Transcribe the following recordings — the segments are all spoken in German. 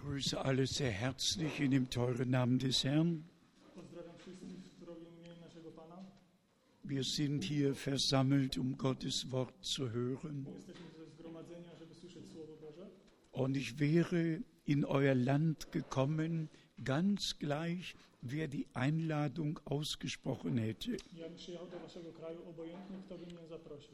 begrüße alle sehr herzlich in dem teuren Namen des Herrn. Pozdrawiam wszystkich w zdrowym imieniu naszego Pana. Wir sind hier versammelt, um Gottes Wort zu hören. Jesteśmy tutaj zgromadzeni, żeby słyszeć Słowo Boże. Und ich wäre in euer Land gekommen, ganz gleich, wer die Einladung ausgesprochen hätte. Ja bym przyjechał do waszego kraju, obojętnie kto by mnie zaprosił.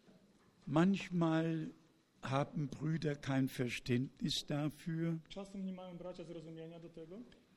Manchmal haben Brüder kein Verständnis dafür, Czasem nie mają bracia zrozumienia do tego,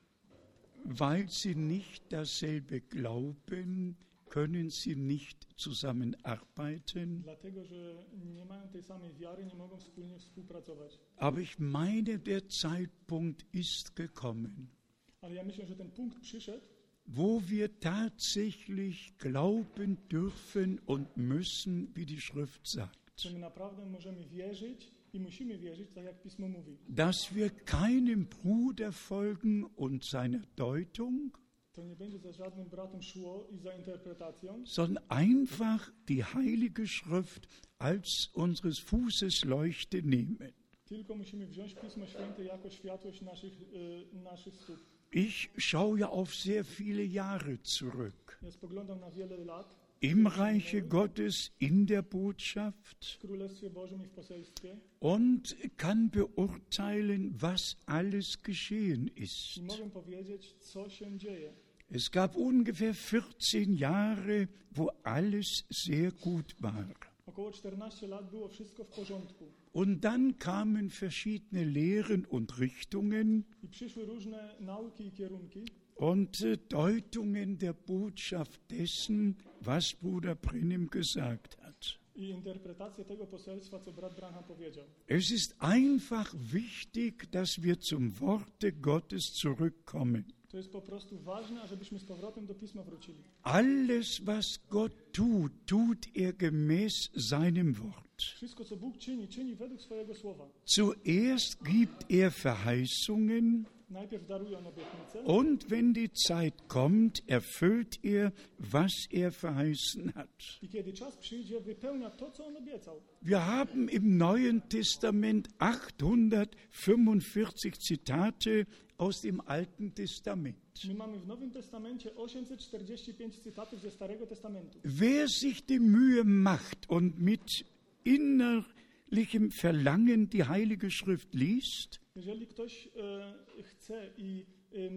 weil sie nicht dasselbe glauben, können sie nicht zusammenarbeiten. dlatego że nie mają tej samej wiary, nie mogą wspólnie współpracować. Aber ich meine, der Zeitpunkt ist gekommen, Ale ja myślę, że ten punkt przyszedł, wo wir tatsächlich glauben dürfen und müssen, wie die Schrift sagt, że my naprawdę możemy wierzyć i musimy wierzyć, tak jak Pismo mówi. dass wir keinem Bruder folgen und seiner Deutung, To nie będzie za żadnym bratem szło i za interpretacją, sondern einfach die Heilige Schrift als unseres Fußes Leuchte nehmen. tylko musimy wziąć Pismo Święte jako światłość naszych stóp. Ich schaue ja auf sehr viele Jahre zurück. Ja spoglądam na wiele lat Im Reiche Gottes, in der Botschaft w Królestwie Bożym i w poselstwie und kann beurteilen, was alles geschehen ist. i mogę powiedzieć, co się dzieje. Es gab ungefähr 14 Jahre, wo alles sehr gut war. Około 14 lat było wszystko w porządku Und dann kamen verschiedene Lehren und Richtungen i przyszły różne nauki i kierunki und Deutungen der Botschaft dessen, was Bruder Brennim gesagt hat. i interpretacje tego poselstwa, co brat Branham powiedział. Es ist einfach wichtig, dass wir zum Worte Gottes zurückkommen. To jest po prostu ważne, ażebyśmy z powrotem do Pisma wrócili. Alles, was Gott tut, tut er gemäß seinem Wort. Wszystko, co Bóg czyni, czyni według swojego słowa. Zuerst gibt er Verheißungen Najpierw daruje on obietnicę und wenn die Zeit kommt, erfüllt er, was er verheißen hat. i kiedy czas przyjdzie, wypełnia to, co on obiecał. Wir haben im Neuen Testament 845 Zitate aus dem Alten Testament. My mamy w Nowym Testamencie 845 cytatów ze Starego Testamentu. Wer sich die Mühe macht und mit innerlichem Verlangen die Heilige Schrift liest, Jeżeli ktoś chce i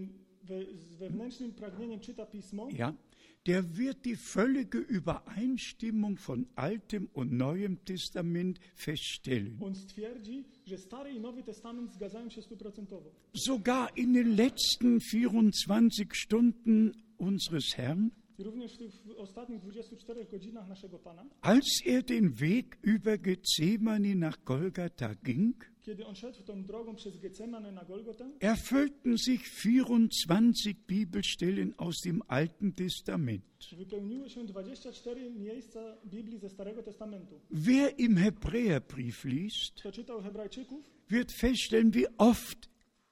z wewnętrznym pragnieniem czyta Pismo, ja, der wird die völlige Übereinstimmung von Altem und Neuem Testament feststellen. on stwierdzi, że Stary i Nowy Testament zgadzają się 100%. Sogar in den letzten 24 Stunden unseres Herrn, I również w tych ostatnich 24 godzinach naszego Pana, als er den Weg über Gethsemane nach Golgatha ging, kiedy on szedł tą drogą przez Getsemanę na Golgotę, erfüllten sich 24 Bibelstellen aus dem Alten Testament. wypełniły się 24 miejsca Biblii ze Starego Testamentu. Wer im Hebräerbrief liest, Kto czytał Hebrajczyków, wird feststellen, wie oft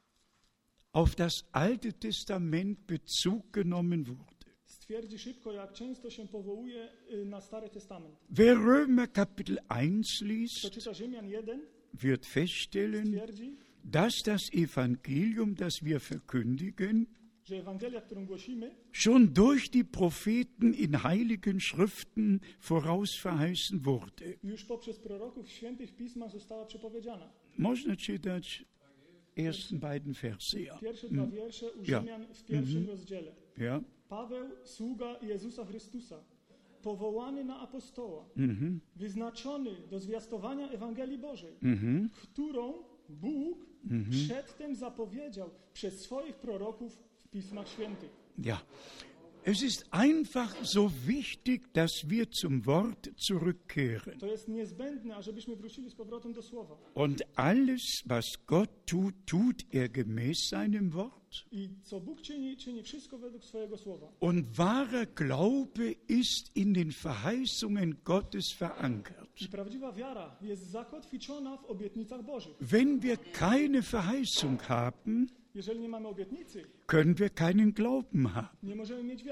auf das Alte Testament Bezug genommen wurde. stwierdzi szybko, jak często się powołuje na Stary Testament. Wer Römer Kapitel 1 Kto liest, czyta Rzymian 1, wird feststellen, stwierdzi, dass das Evangelium, das wir verkündigen, że Ewangelia, którą głosimy, schon durch die Propheten in heiligen Schriften vorausverheißen wurde. już poprzez proroków w świętych pismach została przepowiedziana. Można czytać ersten beiden Verse, ja. Pierwsze dwa wiersze u Ja. Rzymian w pierwszym rozdziale. Ja, Paweł, sługa Jezusa Chrystusa, powołany na apostoła, wyznaczony do zwiastowania Ewangelii Bożej, którą Bóg przedtem zapowiedział przez swoich proroków w Pismach Świętych. ja. Es ist einfach so wichtig, dass wir zum Wort zurückkehren. To jest niezbędne, ażebyśmy wrócili z powrotem do Słowa. Und alles, was Gott tut, tut er gemäß seinem Wort. I co Bóg czyni, czyni wszystko według swojego Słowa. Und wahrer Glaube ist in den Verheißungen Gottes verankert. I prawdziwa wiara jest zakotwiczona w obietnicach Bożych. Wenn wir keine Verheißung haben, Jeżeli nie mamy obietnicy, können wir keinen Glauben haben. nie możemy mieć wiary.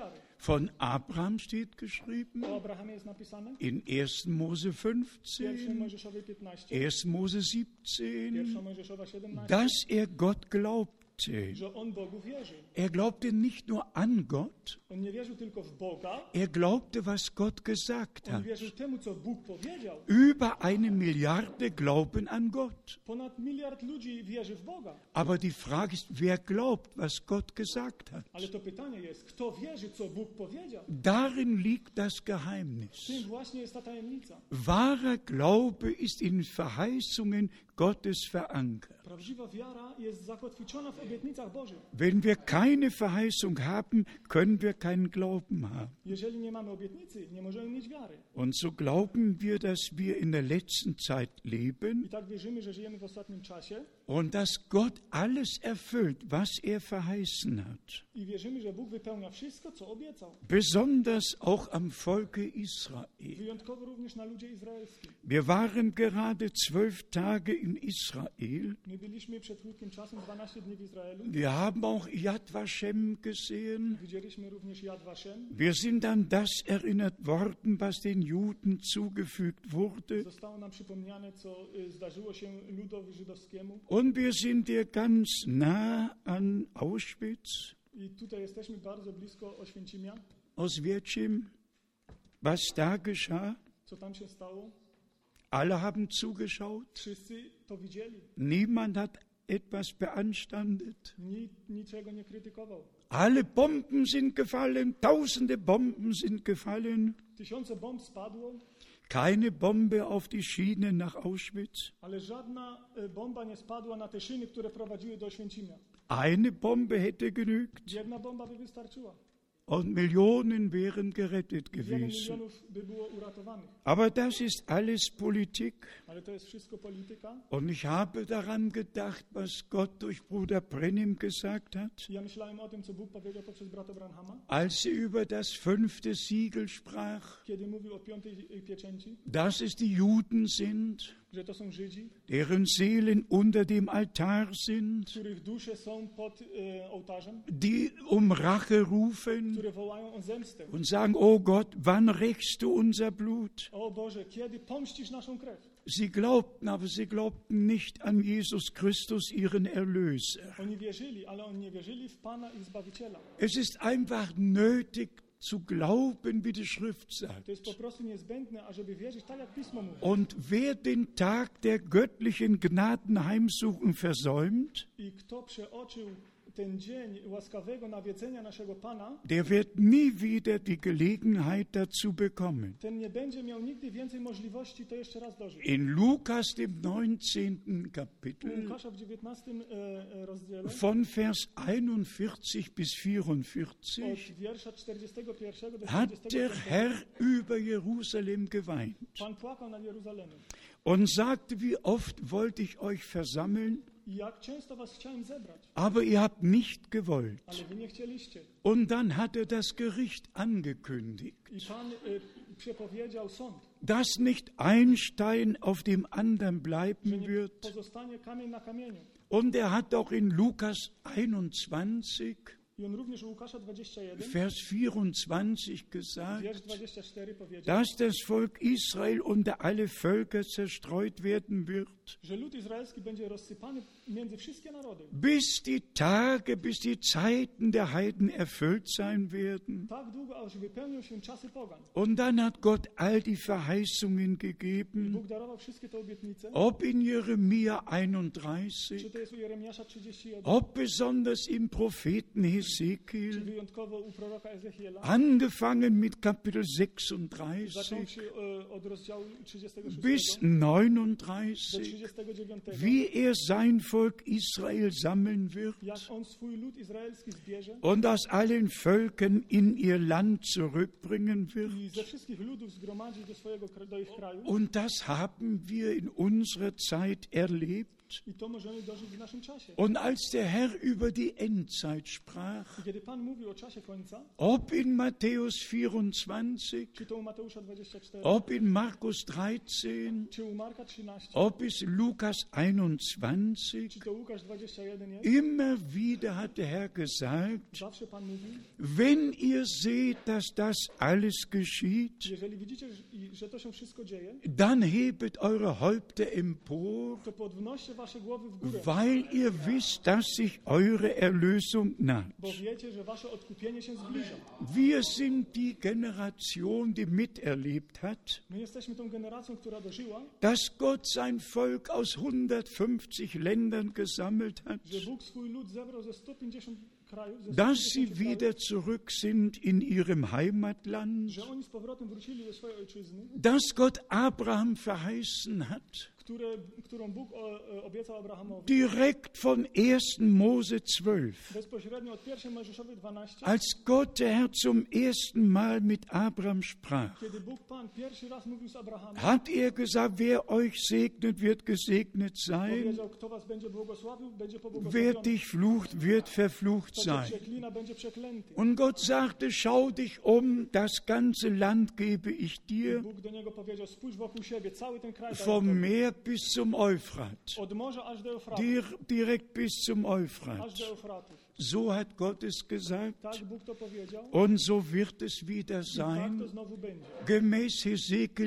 Von Abraham steht geschrieben O Abrahamie jest napisane in 1. Mose w 1 15, Mojżeszowej 15, 1. Mose 17, 1 Mojżeszowa 17, dass er Gott glaubte. że on Bogu wierzy. Er glaubte nicht nur an Gott, On nie wierzył tylko w Boga, er glaubte, was Gott gesagt on hat. wierzył temu, co Bóg powiedział. Über 1 Milliarde glauben an Gott. Ponad 1 miliard ludzi wierzy w Boga. Aber die Frage ist, wer glaubt, was Gott gesagt hat? Ale to pytanie jest, kto wierzy, co Bóg powiedział? Darin liegt das Geheimnis. Tym właśnie jest ta tajemnica. Wahrer Glaube ist in Verheißungen Gottes verankert. Prawdziwa wiara jest zakotwiczona w obietnicach Bożych. Wenn wir keine Verheißung haben, können wir keinen Glauben haben. Jeżeli nie mamy obietnicy, nie możemy mieć wiary. Und so glauben wir, dass wir in der letzten Zeit leben I tak wierzymy, że żyjemy w ostatnim czasie und dass Gott alles erfüllt, was er verheißen hat. i wierzymy, że Bóg wypełnia wszystko, co obiecał. Besonders auch am Volke Israel. Wyjątkowo również na ludzie izraelskim. Wir waren gerade 12 Tage in Israel. My byliśmy przed krótkim czasem 12 dni w Izraelu. Wir haben auch Yad Vashem gesehen. Widzieliśmy również Yad Vashem. Wir sind an das erinnert worden, was den Juden zugefügt wurde. Zostało nam przypomniane, co zdarzyło się ludowi żydowskiemu. Und wir sind hier ganz nah an Auschwitz, I tutaj jesteśmy bardzo blisko Oświęcimia. Oswiecim, was da geschah. Co tam się stało? Alle haben zugeschaut. Wszyscy to widzieli. Niemand hat etwas beanstandet. Nikt niczego nie krytykował. Alle Bomben sind gefallen, tausende Bomben sind gefallen. Tysiące bomb spadło, Keine Bombe auf die Schiene nach Auschwitz. ale żadna bomba nie spadła na te szyny, które prowadziły do Oświęcimia. Eine Bombe hätte genügt Jedna bomba by wystarczyła. und Millionen wären gerettet Wiele gewesen. milionów by było uratowanych. Aber das ist alles Politik. Ale to jest wszystko polityka. Und ich habe daran gedacht, was Gott durch Bruder Brennim gesagt hat, Ja myślałem o tym, co Bóg powiedział poprzez brata Branhama, als er über das 5. Siegel sprach, kiedy mówił o 5. pieczęci, dass es die Juden sind, że to są Żydzi, deren Seelen unter dem Altar sind, których dusze są pod ołtarzem, die um Rache rufen które wołają o zemstę. und sagen, oh Gott, wann rächst du unser Blut? O Boże, kiedy pomścisz naszą krew? Sie glaubten, aber sie glaubten nicht an Jesus Christus, ihren Erlöser. Oni wierzyli, ale oni nie wierzyli w Pana ich Zbawiciela. Es ist einfach nötig zu glauben, wie die Schrift sagt. To jest po prostu niezbędne, ażeby wierzyć tak, jak Pismo mówi. Und wer den Tag der göttlichen Gnadenheimsuchung versäumt, I kto przeoczył ten dzień łaskawego nawiedzenia naszego Pana, der wird nie wieder die Gelegenheit dazu bekommen. ten nie będzie miał nigdy więcej możliwości to jeszcze raz dożyć. In Lukas, dem 19. U Kapitel, Łukasza w 19 rozdziale von Vers 41 bis od 44, wiersza 41 do hat der 45 Herr über Jerusalem geweint Pan płakał nad Jeruzalemem. und sagte, wie oft wollte ich euch versammeln, I jak często was chciałem zebrać, aber ihr habt nicht gewollt. ale wy nie chcieliście. Und dann hat er das Gericht angekündigt, I Pan przepowiedział sąd, dass nicht ein Stein auf dem anderen że bleiben nie wird. pozostanie kamień na kamieniu. Und er hat auch in Lukas 21, I on również u Łukasza 21, Vers 24 gesagt, wiersz 24 powiedział, dass das Volk Israel unter alle Völker zerstreut werden wird, że lud izraelski będzie rozsypany między wszystkie narody. bis die Tage, bis die Zeiten der Heiden erfüllt sein werden. Tak długo, aż wypełnią się czasy pogan. Und dann hat Gott all die Verheißungen I gegeben, Bóg darował wszystkie te obietnice. ob in Jeremia Czy 31, to jest u Jeremiasza 31, ob besonders im Propheten czy Hesekiel, wyjątkowo u proroka Ezechiela. angefangen mit Kapitel Zaczął 36 się od rozdziału 36 bis do 39, 39, wie er sein Volk Israel sammeln wird jak on swój lud izraelski zbierze und aus allen Völkern in ihr Land zurückbringen i wird. ze wszystkich ludów zgromadzi do ich kraju. Und das haben wir in unserer Zeit erlebt. I to możemy dożyć w naszym czasie. Und als der Herr über die Endzeit sprach, I kiedy Pan mówił o czasie końca, ob in Matthäus 24, czy to u Mateusza 24, ob in Markus 13, czy u Marka 13, ob es Lukas 21, czy to Łukasz 21 jest, immer wieder hat der Herr gesagt, zawsze Pan mówi, wenn ihr seht, dass das alles geschieht, jeżeli widzicie, że to się wszystko dzieje, dann hebet eure Häupter empor, to podnoście wasze głowy w górę, weil ihr wisst, dass sich eure Erlösung naht. bo wiecie, że wasze odkupienie się zbliża. Wir sind die Generation, die miterlebt hat, My jesteśmy tą generacją, która dożyła, dass Gott sein Volk aus 150 Ländern gesammelt hat, że Bóg swój lud zebrał ze 150 krajów, ze dass 150 sie krajów, wieder zurück sind in ihrem Heimatland, że oni z powrotem wrócili do swojej ojczyzny, dass Gott Abraham verheißen hat, którą Bóg obiecał Abrahamowi. direkt von 1. Mose 12. Bezpośrednio od 1 Mojżeszowej 12, Als Gott der Herr zum ersten Mal mit Abraham sprach, kiedy Bóg Pan pierwszy raz mówił z Abrahamem, hat gesagt, wer euch segnet, wird gesegnet sein, powiedział, kto was będzie błogosławił, będzie wer pobłogosławiony, dich flucht, wird verflucht kto cię sein. przeklina, będzie przeklęty. Und Gott sagte, schau dich um, das ganze Land gebe ich dir, Bóg do niego powiedział, spójrz wokół siebie, cały ten kraj daję vom tobie. Meer bis zum Euphrat, Od morza aż do Eufratu, direkt bis zum aż Euphrat. do Eufratu. So hat Gott es gesagt Tak Bóg to powiedział und so wird es wieder i tak sein, to znowu będzie. gemäß Hesekiel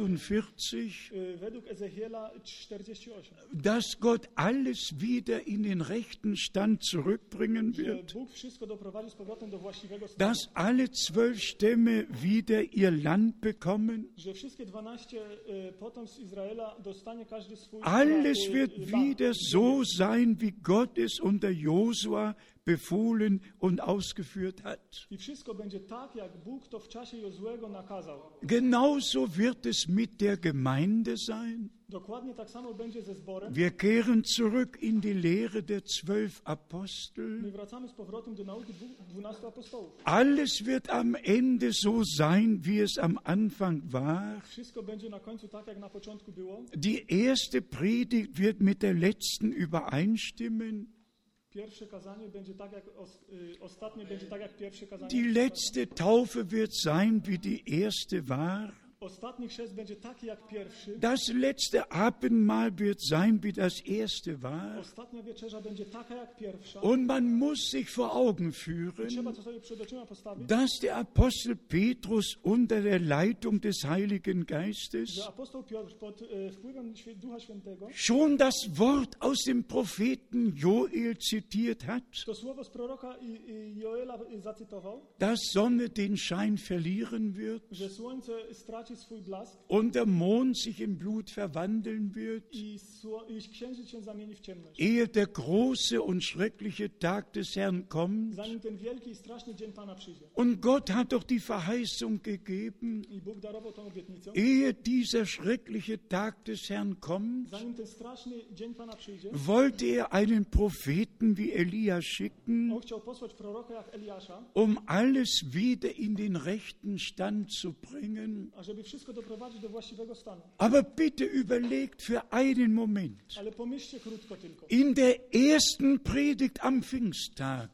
48, Według Ezechiela 48, dass Gott alles wieder in den rechten Stand zurückbringen że wird, Bóg wszystko doprowadzi z powrotem do właściwego stanu, dass alle 12 Stämme wieder ihr Land bekommen. że wszystkie 12 potomstw Izraela dostanie każdy swój Alles wird land. wieder so sein, wie Gott es unter Josua befohlen und ausgeführt hat. I wszystko będzie tak, jak Bóg to w czasie Jozłego nakazał. Genauso wird es mit der Gemeinde sein. Dokładnie tak samo będzie ze zborem. Wir kehren zurück in die Lehre der 12 Apostel. My wracamy z powrotem do nauki 12 apostołów. Alles wird am Ende so sein, wie es am Anfang war. Wszystko będzie na końcu tak, jak na początku było. Die erste Predigt wird mit der letzten übereinstimmen. Pierwsze kazanie będzie tak, jak ostatnie będzie tak, jak pierwsze kazanie. Die letzte Taufe wird sein, wie die erste war. Ostatni chrzest będzie taki, jak pierwszy. Das letzte Abendmahl wird sein, wie das erste war. Ostatnia wieczerza będzie taka, jak pierwsza. Und man muss sich vor Augen Trzeba führen, to sobie przed oczyma postawić, dass der Apostel Petrus unter der Leitung des Heiligen Geistes że apostoł Piotr pod wpływem Ducha Świętego schon das Wort aus dem Propheten Joel zitiert hat, to słowo z proroka Joela zacytował, dass Sonne den Schein verlieren wird że słońce straci swój blask und der Mond sich in Blut verwandeln wird, i księżyc się zamieni w ciemność. ehe der große und schreckliche Tag des Herrn kommt. Zanim ten wielki i straszny dzień Pana przyjdzie. Und Gott hat doch die Verheißung gegeben, I Bóg darował tą obietnicę. ehe dieser schreckliche Tag des Herrn kommt, Zanim ten straszny dzień Pana przyjdzie, wollte er einen Propheten wie Elia schicken, on chciał posłać proroka jak Eliasza, um alles wieder in den rechten Stand zu bringen. ażeby wszystko doprowadzić do właściwego stanu. Aber bitte überlegt für einen Moment. Ale pomyślcie krótko tylko. In der ersten Predigt am Pfingsttag,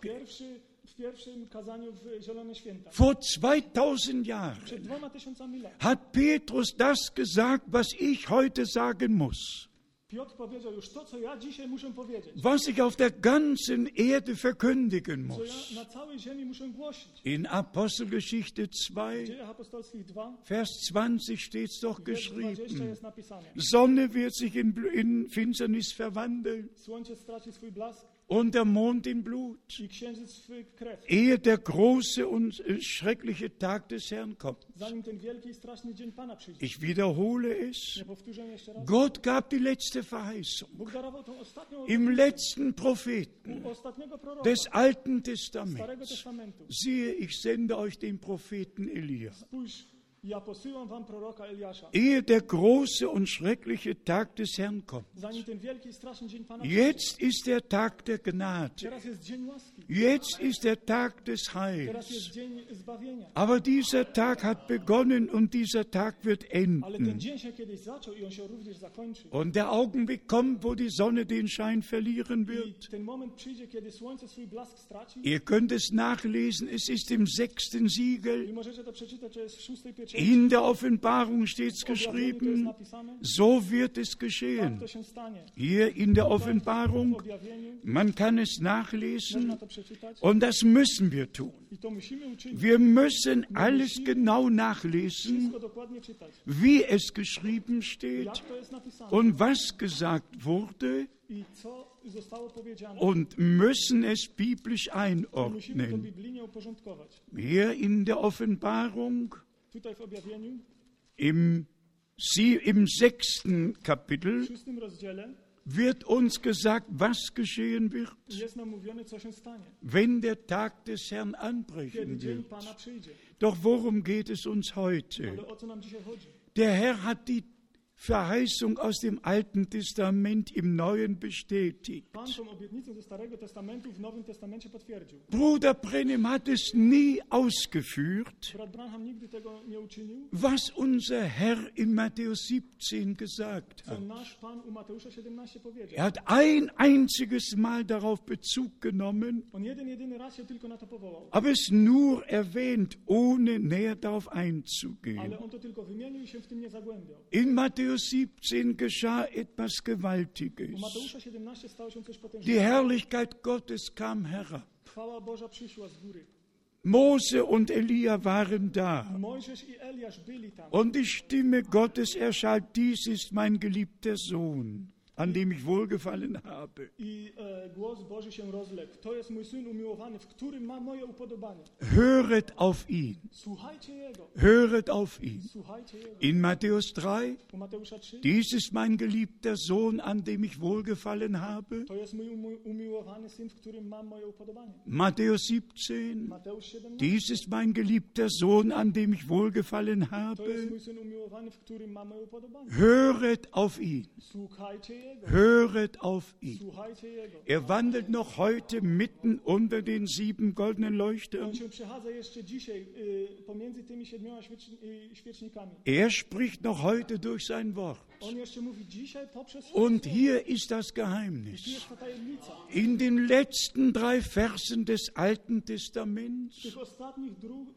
W pierwszym kazaniu w Zielone Święta, vor 2000 Jahren, przed 2000 lat, hat Petrus das gesagt, was ich heute sagen muss, Piotr powiedział już to, co ja dzisiaj muszę powiedzieć, was ich auf der ganzen Erde verkündigen co muss. ja na całej ziemi muszę głosić. In Apostelgeschichte W 2, Dziejach Apostolskich 2, Vers 20 steht es doch wiersz 20 geschrieben. jest napisane. Sonne wird sich in Finsternis verwandeln Słońce straci swój blask und der Mond in Blut, i księżyc swój krew, ehe der große und schreckliche Tag des Herrn kommt. zanim ten wielki i straszny dzień Pana przyjdzie. Ich wiederhole es. Nie powtórzę jeszcze raz. Gott gab die letzte Verheißung Bóg darował tą ostatnią im letzten Propheten u ostatniego proroka des Alten Starego Testaments. Testamentu. Siehe, ich sende euch den Propheten Elia. Spójrz, ja posyłam wam proroka Eliasza, Ehe der große und schreckliche Tag des Herrn kommt. zanim ten wielki i straszny dzień Pana przyjdzie. Jetzt ist der Tag der Gnade. Teraz jest dzień łaski. Jetzt ist der Tag des Teraz jest Heils. dzień zbawienia. Aber dieser Tag hat begonnen und dieser Tag wird Ale ten enden. dzień się kiedyś zaczął i on się również zakończy. Und der Augenblick kommt, wo die Sonne den Schein verlieren I wird. ten moment przyjdzie, kiedy słońce swój blask straci. Ihr könnt es nachlesen, es ist im 6. Siegel. I możecie to przeczytać, to jest w 6 pieczęci. In der Offenbarung steht es W objawieniu to jest geschrieben, napisane. so wird es Tak geschehen. to się stanie. Hier in der W Offenbarung, objawieniu man kann es można nachlesen to przeczytać. und das müssen wir tun. I to musimy uczynić. Wir müssen alles genau nachlesen, Wszystko dokładnie czytać. wie es geschrieben steht Jak to jest napisane. und was gesagt wurde I co zostało powiedziane. und müssen es biblisch Musimy to einordnen. biblijnie uporządkować. Hier in der Offenbarung Tutaj w objawieniu, im 6. w Kapitel 6 rozdziale wird uns gesagt, was geschehen wird, jest nam mówione, co się stanie. wenn der Tag des Herrn Kiedy anbrechen dzień wird. Pana przyjdzie. Doch worum geht es uns heute? Ale o co nam dzisiaj chodzi? Der Herr hat die Verheißung aus dem Alten Testament im Neuen bestätigt. Pan tą obietnicę ze Starego Testamentu w Nowym Testamencie potwierdził. Bruder Brenhem hat es nie ausgeführt, Brat Branham nigdy tego nie uczynił, was unser Herr in Matthäus 17 gesagt co hat. nasz Pan u Mateusza 17 powiedział. Er hat ein einziges Mal darauf Bezug genommen, On jedyny raz się tylko na to powołał. aber es nur erwähnt, ohne näher darauf einzugehen. Ale on to tylko wymienił i się w tym nie zagłębiał. In Matthäus 17 geschah etwas U Gewaltiges. Mateusza 17 stało się coś Die potężnego. Herrlichkeit Gottes kam herab. Chwała Boża przyszła z góry. Mose und Elia waren da. Mojżesz i Eliasz byli tam. Und die Stimme Gottes erschallt, dies ist mein geliebter Sohn, an dem ich wohlgefallen habe. I głos Boży się rozległ. To jest mój Syn umiłowany, w którym ma moje upodobanie. Höret auf ihn, Słuchajcie Jego. höret auf ihn. Słuchajcie Jego. In Matthäus 3, U Mateusza 3. dies ist mein geliebter Sohn, an dem ich wohlgefallen habe. To jest mój umiłowany Syn, w którym mam moje upodobanie. Matthäus 17, Mateusz 17. dies ist mein geliebter Sohn, an dem ich wohlgefallen To jest habe. mój Syn umiłowany, w którym mam moje upodobanie. Höret auf ihn, Słuchajcie Jego. höret auf ihn. Słuchajcie Jego. Er wandelt noch heute mitten unter den 7 goldenen Leuchtern. On się przechadza jeszcze dzisiaj pomiędzy tymi 7 świecznikami. Er spricht noch heute durch sein Wort. On jeszcze mówi dzisiaj poprzez swoje Und słowo. hier ist das I tu Geheimnis. jest ta tajemnica. In den letzten 3 Versen des Alten W Testaments, tych ostatnich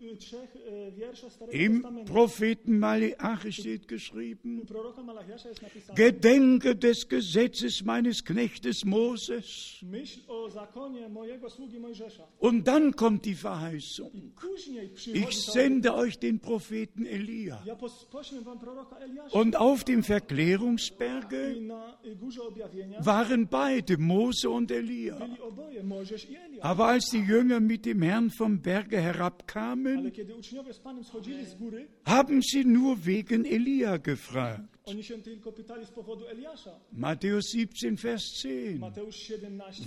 3 wierszach Starego im Testamentu Propheten Malachi steht geschrieben, u proroka Malachiasza jest napisane: Gedenke des Gesetzes meines Knechtes Moses. myśl o zakonie mojego sługi Mojżesza. Und dann kommt die Verheißung. Później przychodzi Ich ta sende euch den Propheten Elia. ja poślę wam proroka Eliasza. Und auf dem Verklärungsberge I na górze objawienia waren beide, Mose und Elia. byli oboje, Mojżesz i Eliasz. Aber als die Jünger mit dem Herrn vom Berge Ale herabkamen, kiedy uczniowie z Panem schodzili z góry, haben sie nur wegen Elia gefragt. oni się tylko pytali z powodu Eliasza. Matthäus 17, Vers 10. Mateusz 17.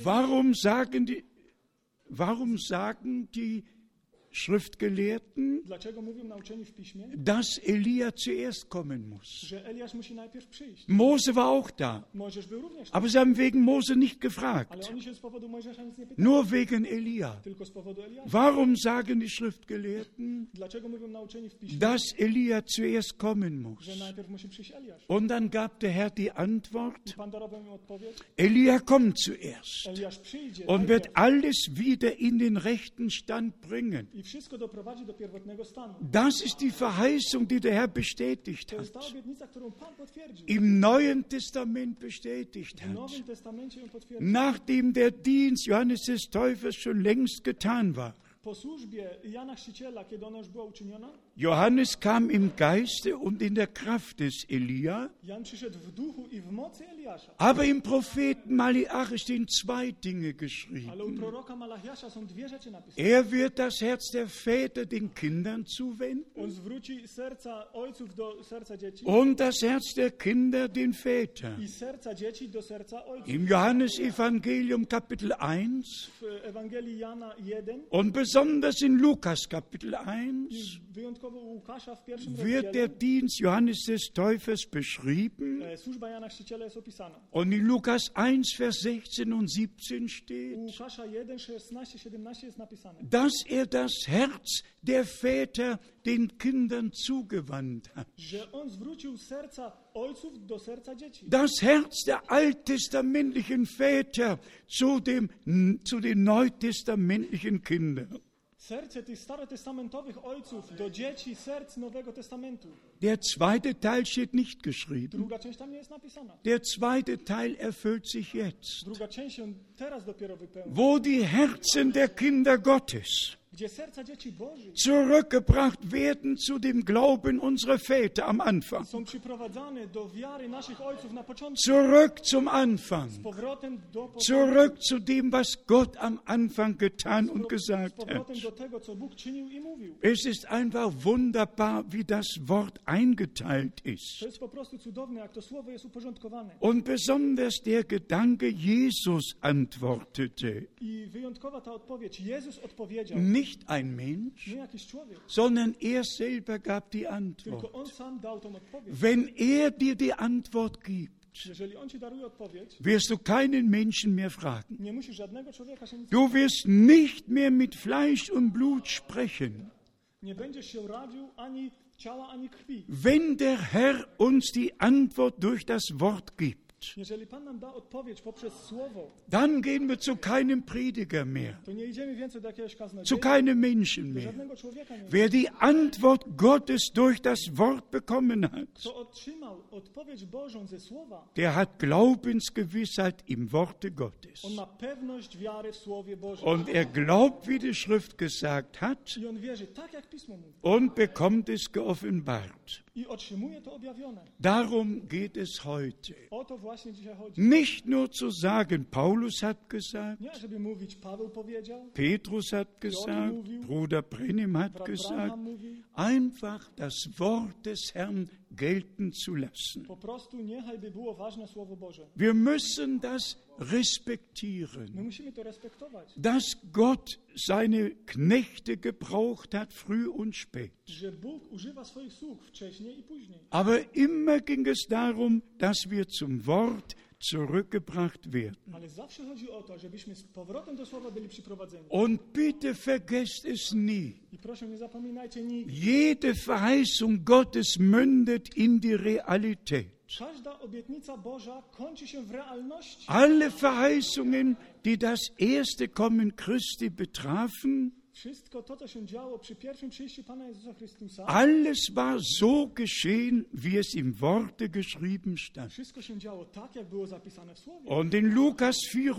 Warum sagen die Schriftgelehrten, Dlaczego mówią nauczeni w Piśmie, dass Elia zuerst kommen muss? że Eliasz musi najpierw przyjść? Mose war auch da, Mojżesz był również tam, aber sie haben wegen Mose nicht ale gefragt, oni się z powodu Mojżesza nic nie pytali, nur wegen Elia. tylko z powodu Eliasza. Warum sagen die Schriftgelehrten, Dlaczego mówią nauczeni w Piśmie, dass Elia zuerst kommen muss? że najpierw musi przyjść Eliasz? Und dann gab der Herr die Antwort, Pan darował im odpowiedź, Elia kommt zuerst Eliasz przyjdzie und wird najpierw alles wieder in den rechten Stand bringen. i wszystko doprowadzi do pierwotnego stanu. Das ist die Verheißung, die der Herr bestätigt To jest ta hat, obietnica, którą Pan potwierdził. im Neuen Testament bestätigt W hat, Nowym Testamencie ją potwierdził. nachdem der Dienst Johannes des Täufers schon längst getan war. Po służbie Jana Chrzciciela, kiedy ona już była uczyniona, Johannes kam im Geiste und in der Kraft des Elia, Jan przyszedł w duchu i w mocy Eliasza. aber im Propheten Malachi stehen 2 Dinge Ale u geschrieben. proroka Malachiasza są 2 rzeczy napisane. Er wird das Herz der Väter den Kindern zuwenden On zwróci serca ojców do serca dzieci und das Herz der Kinder den Vätern. i serca dzieci do serca ojców. Im Johannesevangelium Kapitel 1 W Ewangelii Jana 1 und besonders in Lukas Kapitel 1 i wyjątkowo początkowo u Łukasza w pierwszym wird der rozdziale Dienst Johannes des Täufers beschrieben. służba Jana Chrzciciela jest opisana. Und in Lukas 1, Vers 16 und 17 U steht, Łukasza 1, 16, 17 jest napisane, dass er das Herz der Väter den Kindern zugewandt hat. że on zwrócił serca ojców do serca dzieci. Das Herz der alttestamentlichen Väter zu den neutestamentlichen Kindern. Serce tych starotestamentowych ojców do dzieci serc Nowego Testamentu. Der zweite Teil steht nicht geschrieben. Druga część tam nie jest napisana. Der zweite Teil erfüllt sich jetzt. Druga część się teraz dopiero wypełni. Wo die Herzen der Kinder Gottes Gdzie serca dzieci Bożych zurückgebracht werden zu dem Glauben unserer Väter am Anfang. są przyprowadzane do wiary naszych ojców na początku. Zurück zum Anfang. Z powrotem do początku. Zurück zu dem, was Gott am Anfang getan und Z gesagt powrotem hat. do tego, co Bóg czynił i mówił. Es ist einfach wunderbar, wie das Wort eingeteilt ist. To jest po prostu cudowne, jak to słowo jest uporządkowane. Und besonders der Gedanke, Jesus antwortete. I wyjątkowa ta odpowiedź. Jezus odpowiedział. Nicht ein Mensch, Nie jakiś człowiek, sondern er selber gab die Antwort. tylko on sam dał tą odpowiedź. Wenn er dir die Antwort gibt, Jeżeli on ci daruje odpowiedź, wirst du keinen Menschen mehr fragen. nie musisz żadnego człowieka się nic Du wirst nicht mehr mit Fleisch und Blut sprechen. nie będziesz się radził ani ciała, ani krwi. Wenn der Herr uns die Antwort durch das Wort gibt, Jeżeli Pan nam da odpowiedź poprzez słowo, dann gehen wir zu keinem Prediger mehr, to nie idziemy więcej do jakiegoś zu kaznodzieja, keinem Menschen do mehr. żadnego człowieka nie. Wer die Antwort Gottes durch das Wort bekommen hat, Kto otrzymał odpowiedź Bożą ze słowa, der hat Glaubensgewissheit im Worte Gottes. on ma pewność wiary w Słowie Bożym. Und er glaubt, wie die Schrift gesagt hat, I on wierzy tak, jak Pismo mówi. und bekommt es geoffenbart. I otrzymuje to objawione. Darum geht es heute. O to właśnie dzisiaj chodzi. Nicht nur zu sagen, Paulus hat gesagt, Nie, żeby mówić, Paweł powiedział, Petrus hat gesagt, Bruder Brennim hat brat gesagt, Branham mówi, einfach das Wort des Herrn gelten zu lassen. po prostu niechaj by było ważne Słowo Boże. Wir müssen das My respektieren, musimy to respektować, dass Gott seine Knechte gebraucht hat, früh und spät. że Bóg używa swoich sług wcześniej i później. Aber immer ging es darum, dass wir zum Wort zurückgebracht werden. Ale zawsze chodzi o to, żebyśmy z powrotem do Słowa byli przyprowadzeni. Und bitte vergesst es nie. I proszę, nie zapominajcie nigdy. Jede Verheißung Gottes mündet in die Realität. Każda obietnica Boża kończy się w realności. Alle Verheißungen, die das erste Kommen Christi betrafen, Wszystko to, co się działo przy pierwszym przyjściu Pana Jezusa Chrystusa, alles war so geschehen, wie es im Worte geschrieben stand. wszystko się działo tak, jak było zapisane w Słowie. Und in Lukas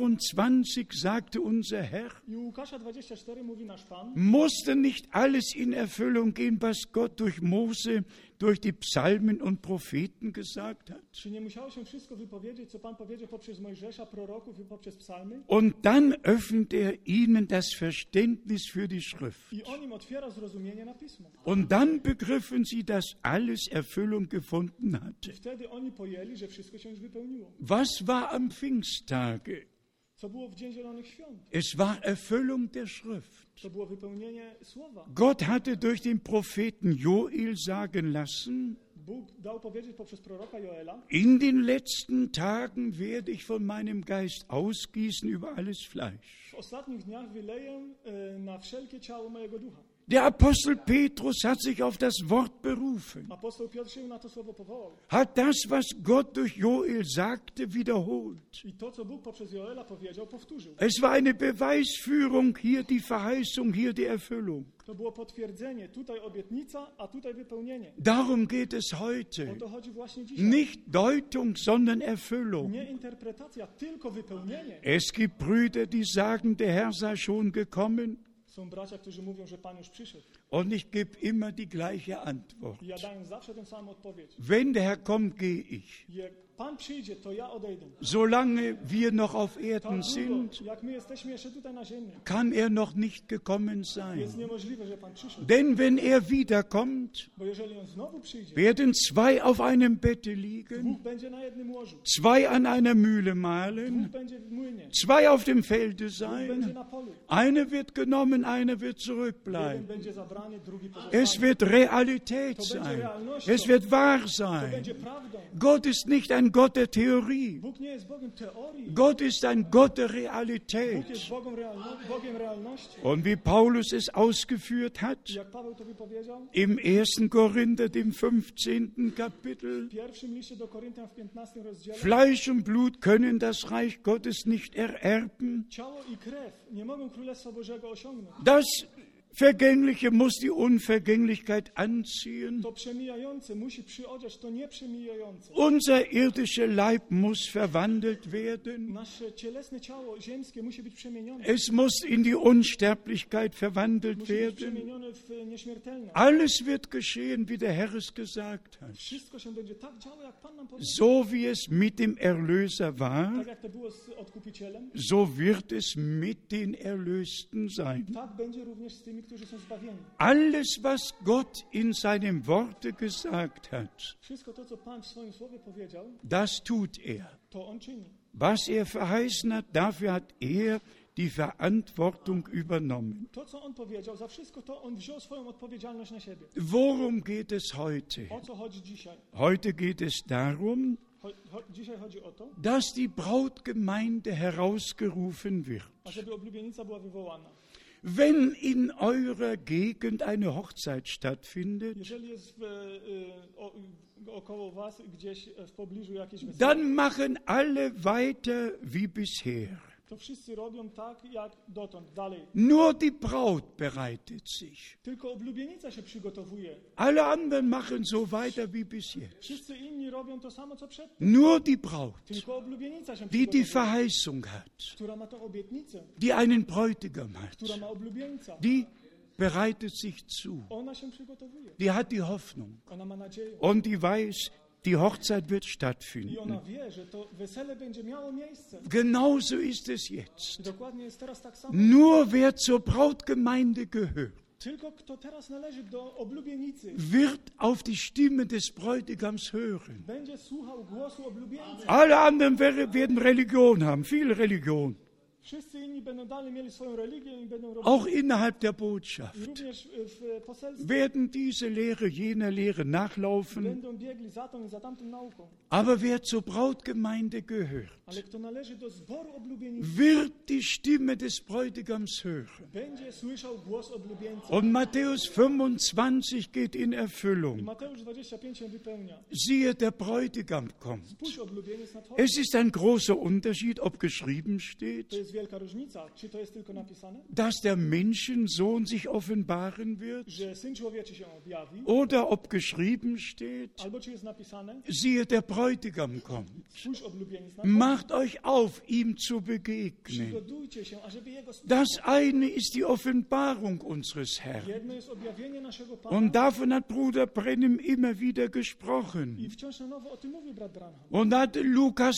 24 sagte unser Herr, I u Łukasza 24 mówi nasz Pan, musste nicht alles in Erfüllung gehen, was Gott durch Mose, durch die Psalmen und Propheten gesagt hat? czy nie musiało się wszystko wypowiedzieć, co Pan powiedział poprzez Mojżesza, proroków i poprzez psalmy? Und dann öffnet er ihnen das Verständnis für die Schrift. I on im otwiera zrozumienie na Pismo. Und dann begriffen sie, dass alles Erfüllung gefunden hatte. I wtedy oni pojęli, że wszystko się już wypełniło. Was war am Pfingsttage? Co było w Dzień Zielonych Świąt? Es war Erfüllung der Schrift. To było wypełnienie Słowa. Gott hatte durch den Propheten Joel sagen lassen, Bóg dał powiedzieć poprzez proroka Joela, in den letzten Tagen werde ich von meinem Geist ausgießen über alles Fleisch. w ostatnich dniach wyleję na wszelkie ciało mojego ducha. Der Apostel Petrus hat sich auf das Wort berufen, Apostoł Piotr się na to słowo powołał. hat das, was Gott durch Joel sagte, wiederholt. I to, co Bóg poprzez Joela powiedział, powtórzył. Es war eine Beweisführung, hier die Verheißung, hier die Erfüllung. To było potwierdzenie, tutaj obietnica, a tutaj wypełnienie. Darum geht es O heute. to chodzi właśnie dzisiaj. Nicht Deutung, sondern Erfüllung. Nie interpretacja, tylko wypełnienie. Es gibt Brüder, die sagen, der Herr sei schon gekommen. Są bracia, którzy mówią, że Pan już przyszedł. Und ich gebe immer die gleiche Antwort. I ja daję zawsze tę samą odpowiedź. Wenn der Herr kommt, gehe ich. Jak Pan przyjdzie, to ja odejdę. Solange wir noch auf Tak Erden długo, sind, jak my jesteśmy jeszcze tutaj na ziemi, kann er noch nicht gekommen jest sein. niemożliwe, że Pan przyszedł. Denn wenn er wiederkommt, Bo jeżeli On znowu przyjdzie, werden zwei auf einem Bette liegen, dwóch będzie na jednym łożu, zwei an einer Mühle dwóch mahlen, będzie w młynie, zwei auf dem Felde dwóch będzie sein. na polu. Einer wird genommen, einer wird Jeden zurückbleiben. będzie zabrany, zebranie, drugi pozostanie. Es wird Realität To będzie sein. realnością. Es wird wahr To sein. będzie prawdą. Gott ist nicht ein Gott der Theorie. Bóg nie jest Bogiem teorii. Gott ist ein Gott der Bóg jest Realität. Bogiem realności. Und wie Paulus es ausgeführt hat, Jak Paweł to wypowiedział im 1. Korinther, dem 15. Kapitel, w pierwszym liście do Koryntian w 15 rozdziale, Fleisch und Blut können das Reich Gottes nicht ererben. ciało i krew nie mogą Królestwa Bożego osiągnąć. Das Vergängliche muss die Unvergänglichkeit anziehen. To przemijające musi przyodziać to nieprzemijające. Unser irdischer Leib muss verwandelt werden. Nasze cielesne ciało ziemskie musi być przemienione. Es muss in die Unsterblichkeit verwandelt Musi być werden. przemienione w nieśmiertelność. Alles wird geschehen, wie der Herr es gesagt hat. Wszystko się będzie tak działo, jak Pan nam powiedział. So wie es mit dem Erlöser war, Tak jak to było z Odkupicielem, so wird es mit den Erlösten sein. tak będzie również z tymi, którzy są zbawieni. Alles, was Gott in seinem Worte gesagt hat, Wszystko to, co Pan w swoim słowie powiedział, das tut er. to On czyni. Was er verheißen hat, dafür hat er die Verantwortung übernommen. To, co On powiedział, za wszystko to On wziął swoją odpowiedzialność na siebie. Worum geht es heute? O co chodzi dzisiaj? Heute geht es darum, Dzisiaj chodzi o to, dass die Brautgemeinde herausgerufen wird. ażeby oblubienica była wywołana. Wenn in eurer Gegend eine Hochzeit stattfindet, Jeżeli jest około was gdzieś w pobliżu jakieś wesele, dann machen alle weiter wie bisher. to wszyscy robią tak, jak dotąd, dalej. Nur die Braut bereitet sich. Tylko oblubienica się przygotowuje. Alle anderen machen so weiter wie bis jetzt. Wszyscy inni robią to samo, co przedtem. Nur die Braut, Tylko oblubienica się die die przygotowuje, Verheißung hat, która ma tą obietnicę, die einen Bräutigam hat, która ma oblubieńca. die bereitet sich zu. Ona się przygotowuje. Die hat die Hoffnung Ona ma nadzieję. und die weiß, die Hochzeit wird I stattfinden. ona wie, że to wesele będzie miało miejsce. Genauso ist es jetzt. Dokładnie jest teraz tak samo. Nur wer zur Brautgemeinde gehört, Tylko kto teraz należy do oblubienicy, wird auf die Stimme des Bräutigams hören. będzie słuchał głosu oblubieńcy. Alle anderen werden Religion haben, viel Religion, Wszyscy inni będą dalej mieli swoją religię i będą auch robić. innerhalb der I Botschaft. również w poselstwie Werden diese Lehre jener Lehre nachlaufen. będą biegli za tą i za tamtą nauką. Aber wer zur Brautgemeinde gehört, Ale kto należy do zboru oblubienicy, wird die Stimme des Bräutigams hören. będzie słyszał głos oblubieńca. Und Matthäus 25 geht in I Erfüllung. Mateusz 25 się wypełnia. Siehe, der Bräutigam kommt. Spójrz, oblubieniec nadchodzi. Es ist ein großer Unterschied, ob geschrieben steht, To jest wielka różnica. Czy to jest tylko napisane, dass der Menschensohn sich offenbaren wird, że Syn Człowieczy się objawi, oder ob geschrieben steht, albo czy jest napisane, siehe, der Bräutigam kommt. spójrz, oblubieniec nadchodzi. Macht euch auf, ihm zu begegnen. Przygotujcie się, ażeby Jego spotkać. Das eine ist die Offenbarung unseres Herrn. Jedno jest objawienie naszego Pana Und davon hat Bruder Brennim immer wieder gesprochen. i wciąż na nowo o tym mówił brat Branham. Und hat Lukas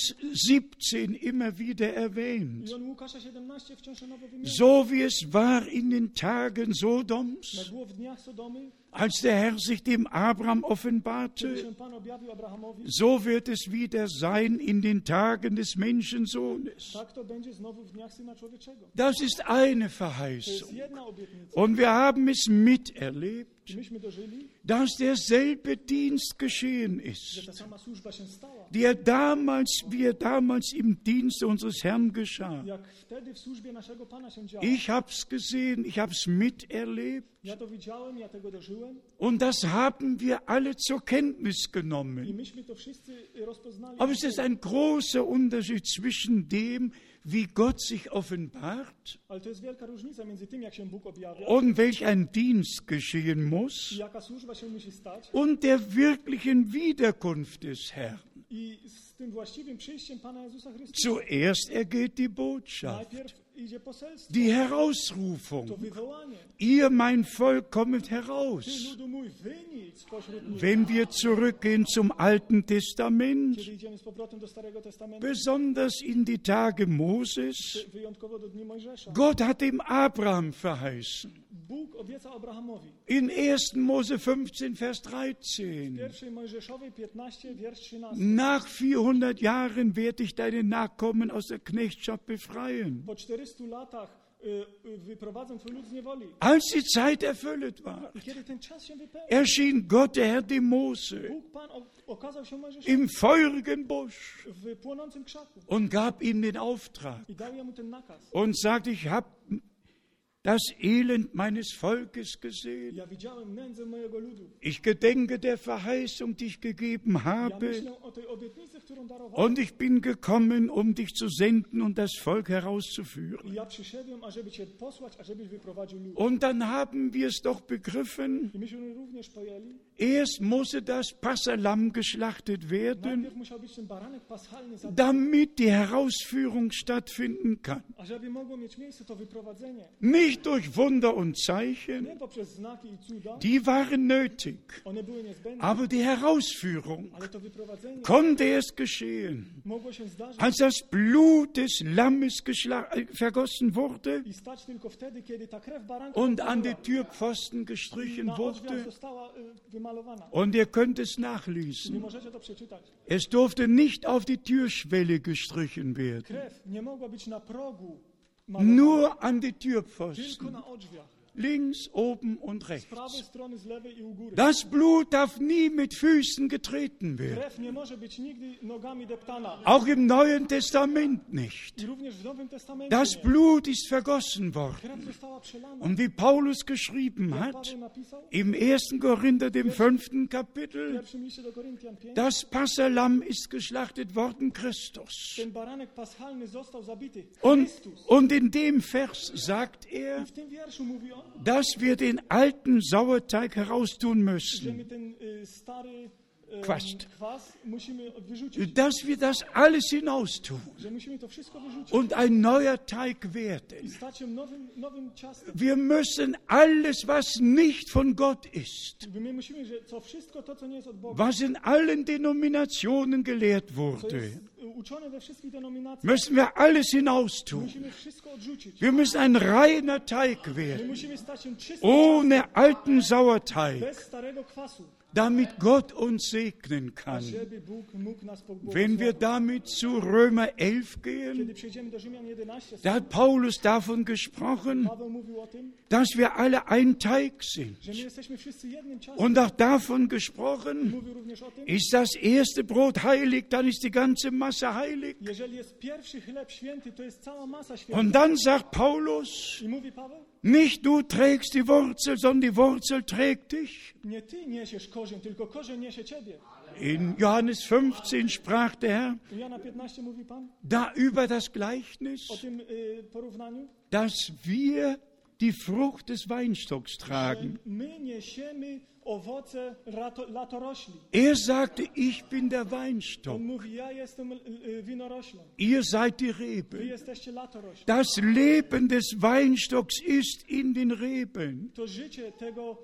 17 immer wieder erwähnt. I on Łukasza 17 wciąż na nowo wymienił. So wie es war in den Tagen Jak Sodoms, było w dniach Sodomy, als der Herr sich dem Abraham kiedy offenbarte, się Pan objawił Abrahamowi, so wird es wieder sein in den Tagen des Menschensohnes. tak to będzie znowu w dniach Syna Człowieczego. Das ist eine To jest Verheißung. jedna obietnica. Und wir haben es miterlebt, I myśmy dożyli, dass derselbe Dienst geschehen że ist, ta sama służba się stała. wie er damals im Dienst unseres Herrn geschah. Jak wtedy w służbie naszego Pana się działo. Ich habe es gesehen, ich habe es miterlebt Ja to widziałem, ja tego dożyłem und das haben wir alle zur Kenntnis i genommen. myśmy to wszyscy rozpoznali. Aber es ist ein großer Unterschied zwischen dem, wie Gott sich offenbart Ale to jest wielka różnica między tym, jak się Bóg objawia und welch ein Dienst geschehen muss i jaka służba się musi stać und der wirklichen Wiederkunft des Herrn. i z tym właściwym przyjściem Pana Jezusa Chrystusa. Zuerst ergeht die Botschaft, Najpierw idzie poselstwo, die to Herausrufung. wywołanie. Ihr, mein Volk, kommet Ty, heraus. ludu mój, wynicz spośród nich. Wenn wir zurückgehen zum Alten Testament, Kiedy idziemy z powrotem do Starego Testamentu, besonders in die Tage Moses, wyjątkowo do dni Mojżesza, Gott hat dem Abraham verheißen. Bóg obiecał Abrahamowi. In 1. Mose 15, Vers 13. Pierwszej Mojżeszowej 15, wiersz 13. Nach 400 Jahren werde ich deine Nachkommen aus der Knechtschaft befreien. Po 400 400 latach wyprowadzę twój lud z niewoli. Als die Zeit erfüllt war, I kiedy ten czas się wypełni, erschien Gott, der Herr, dem Mose Bóg Pan okazał się Mojżeszowi im feurigen Busch w płonącym krzaku und gab ihm den Auftrag i dał jemu ten nakaz. und sagte, ich habe das Elend meines Volkes gesehen. Ja widziałem nędzę mojego ludu. Ich gedenke der Verheißung, die ich gegeben Ja habe. myślę o tej obietnicy, którą darowałem. Und ich bin gekommen, um dich zu senden und das Volk herauszuführen. I ja przyszedłem, ażeby cię posłać, ażebyś wyprowadził lud. Und dann haben wir es doch begriffen, I myśmy również pojęli, erst musste das Passahlamm geschlachtet werden, najpierw musiał być ten baranek paschalny zabity, damit die Herausführung stattfinden kann. ażeby mogło mieć miejsce to wyprowadzenie. Nicht durch Wunder und Zeichen, Nie poprzez znaki i cuda, die waren nötig, one były niezbędne, aber die Herausführung ale to wyprowadzenie konnte erst geschehen, mogło się zdarzyć als das Blut des Lammes vergossen wurde i stać tylko wtedy, kiedy ta krew baranka und an die była, Türpfosten gestrichen na drzwiach wurde. została wymalowana. Und ihr könnt es Nie nachlesen. możecie to przeczytać. Es durfte nicht auf die Türschwelle gestrichen werden, Krew nie mogła być na progu malowana, nur an die tylko Türpfosten, na drzwiach. links, oben und Z rechts. prawej strony, z lewej i u góry. Das Blut darf nie mit Füßen getreten werden, Krew nie może być nigdy nogami deptana. auch im Neuen Testament nicht. I również w Nowym Testamencie Das nie. Blut ist vergossen worden. Krew została przelana. Und wie Paulus geschrieben Jak hat, Paweł napisał im 1. Korinther, dem 5. w Kapitel, pierwszym liście do Koryntian 5, das Passahlamm ist geschlachtet worden, Christus. ten baranek paschalny został zabity. Und, Chrystus. und in dem Vers sagt I er, w tym wierszu mówi on, dass wir den alten Sauerteig heraustun że müssen, my ten stary Quast. kwas musimy wyrzucić. dass wir das alles hinaustun Że musimy to wszystko wyrzucić und ein neuer Teig i werden. stać się nowym ciastem. Wir müssen alles, was nicht von Gott ist, My musimy, że co wszystko to, co nie jest od Boga, was in allen Denominationen gelehrt co wurde, jest uczone we wszystkich denominacjach, müssen wir alles hinaustun. musimy wszystko odrzucić. Wir müssen ein reiner Teig My werden, musimy stać się czystym ohne alten Sauerteig, bez starego kwasu, damit Gott uns segnen kann. żeby Bóg mógł nas Wenn wir pobłogosławić. damit zu Römer 11 gehen, Kiedy przejdziemy do Rzymian 11, da hat Paulus davon gesprochen, Paweł mówił o tym, dass wir alle ein Teig sind. że my jesteśmy wszyscy jednym ciastem. Und auch davon gesprochen, Mówił również o tym, ist das erste Brot heilig, dann ist die ganze Masse heilig. jeżeli jest pierwszy chleb święty, to jest cała masa święta. Und dann sagt Paulus, I mówi Paweł, nicht du trägst die Wurzel, sondern die Wurzel trägt dich. nie ty niesiesz korzeń, tylko korzeń niesie ciebie. In Johannes 15 sprach der Herr I Jana 15 mówi Pan da über das o Gleichnis, tym porównaniu, dass wir die Frucht des Weinstocks tragen. że my niesiemy owoce latorośli. Er sagte, ich bin der Weinstock, On mówi, ja jestem winoroślą, ihr seid die wy Rebe. jesteście latorośli. Das Leben des Weinstocks ist in den Reben. To życie tego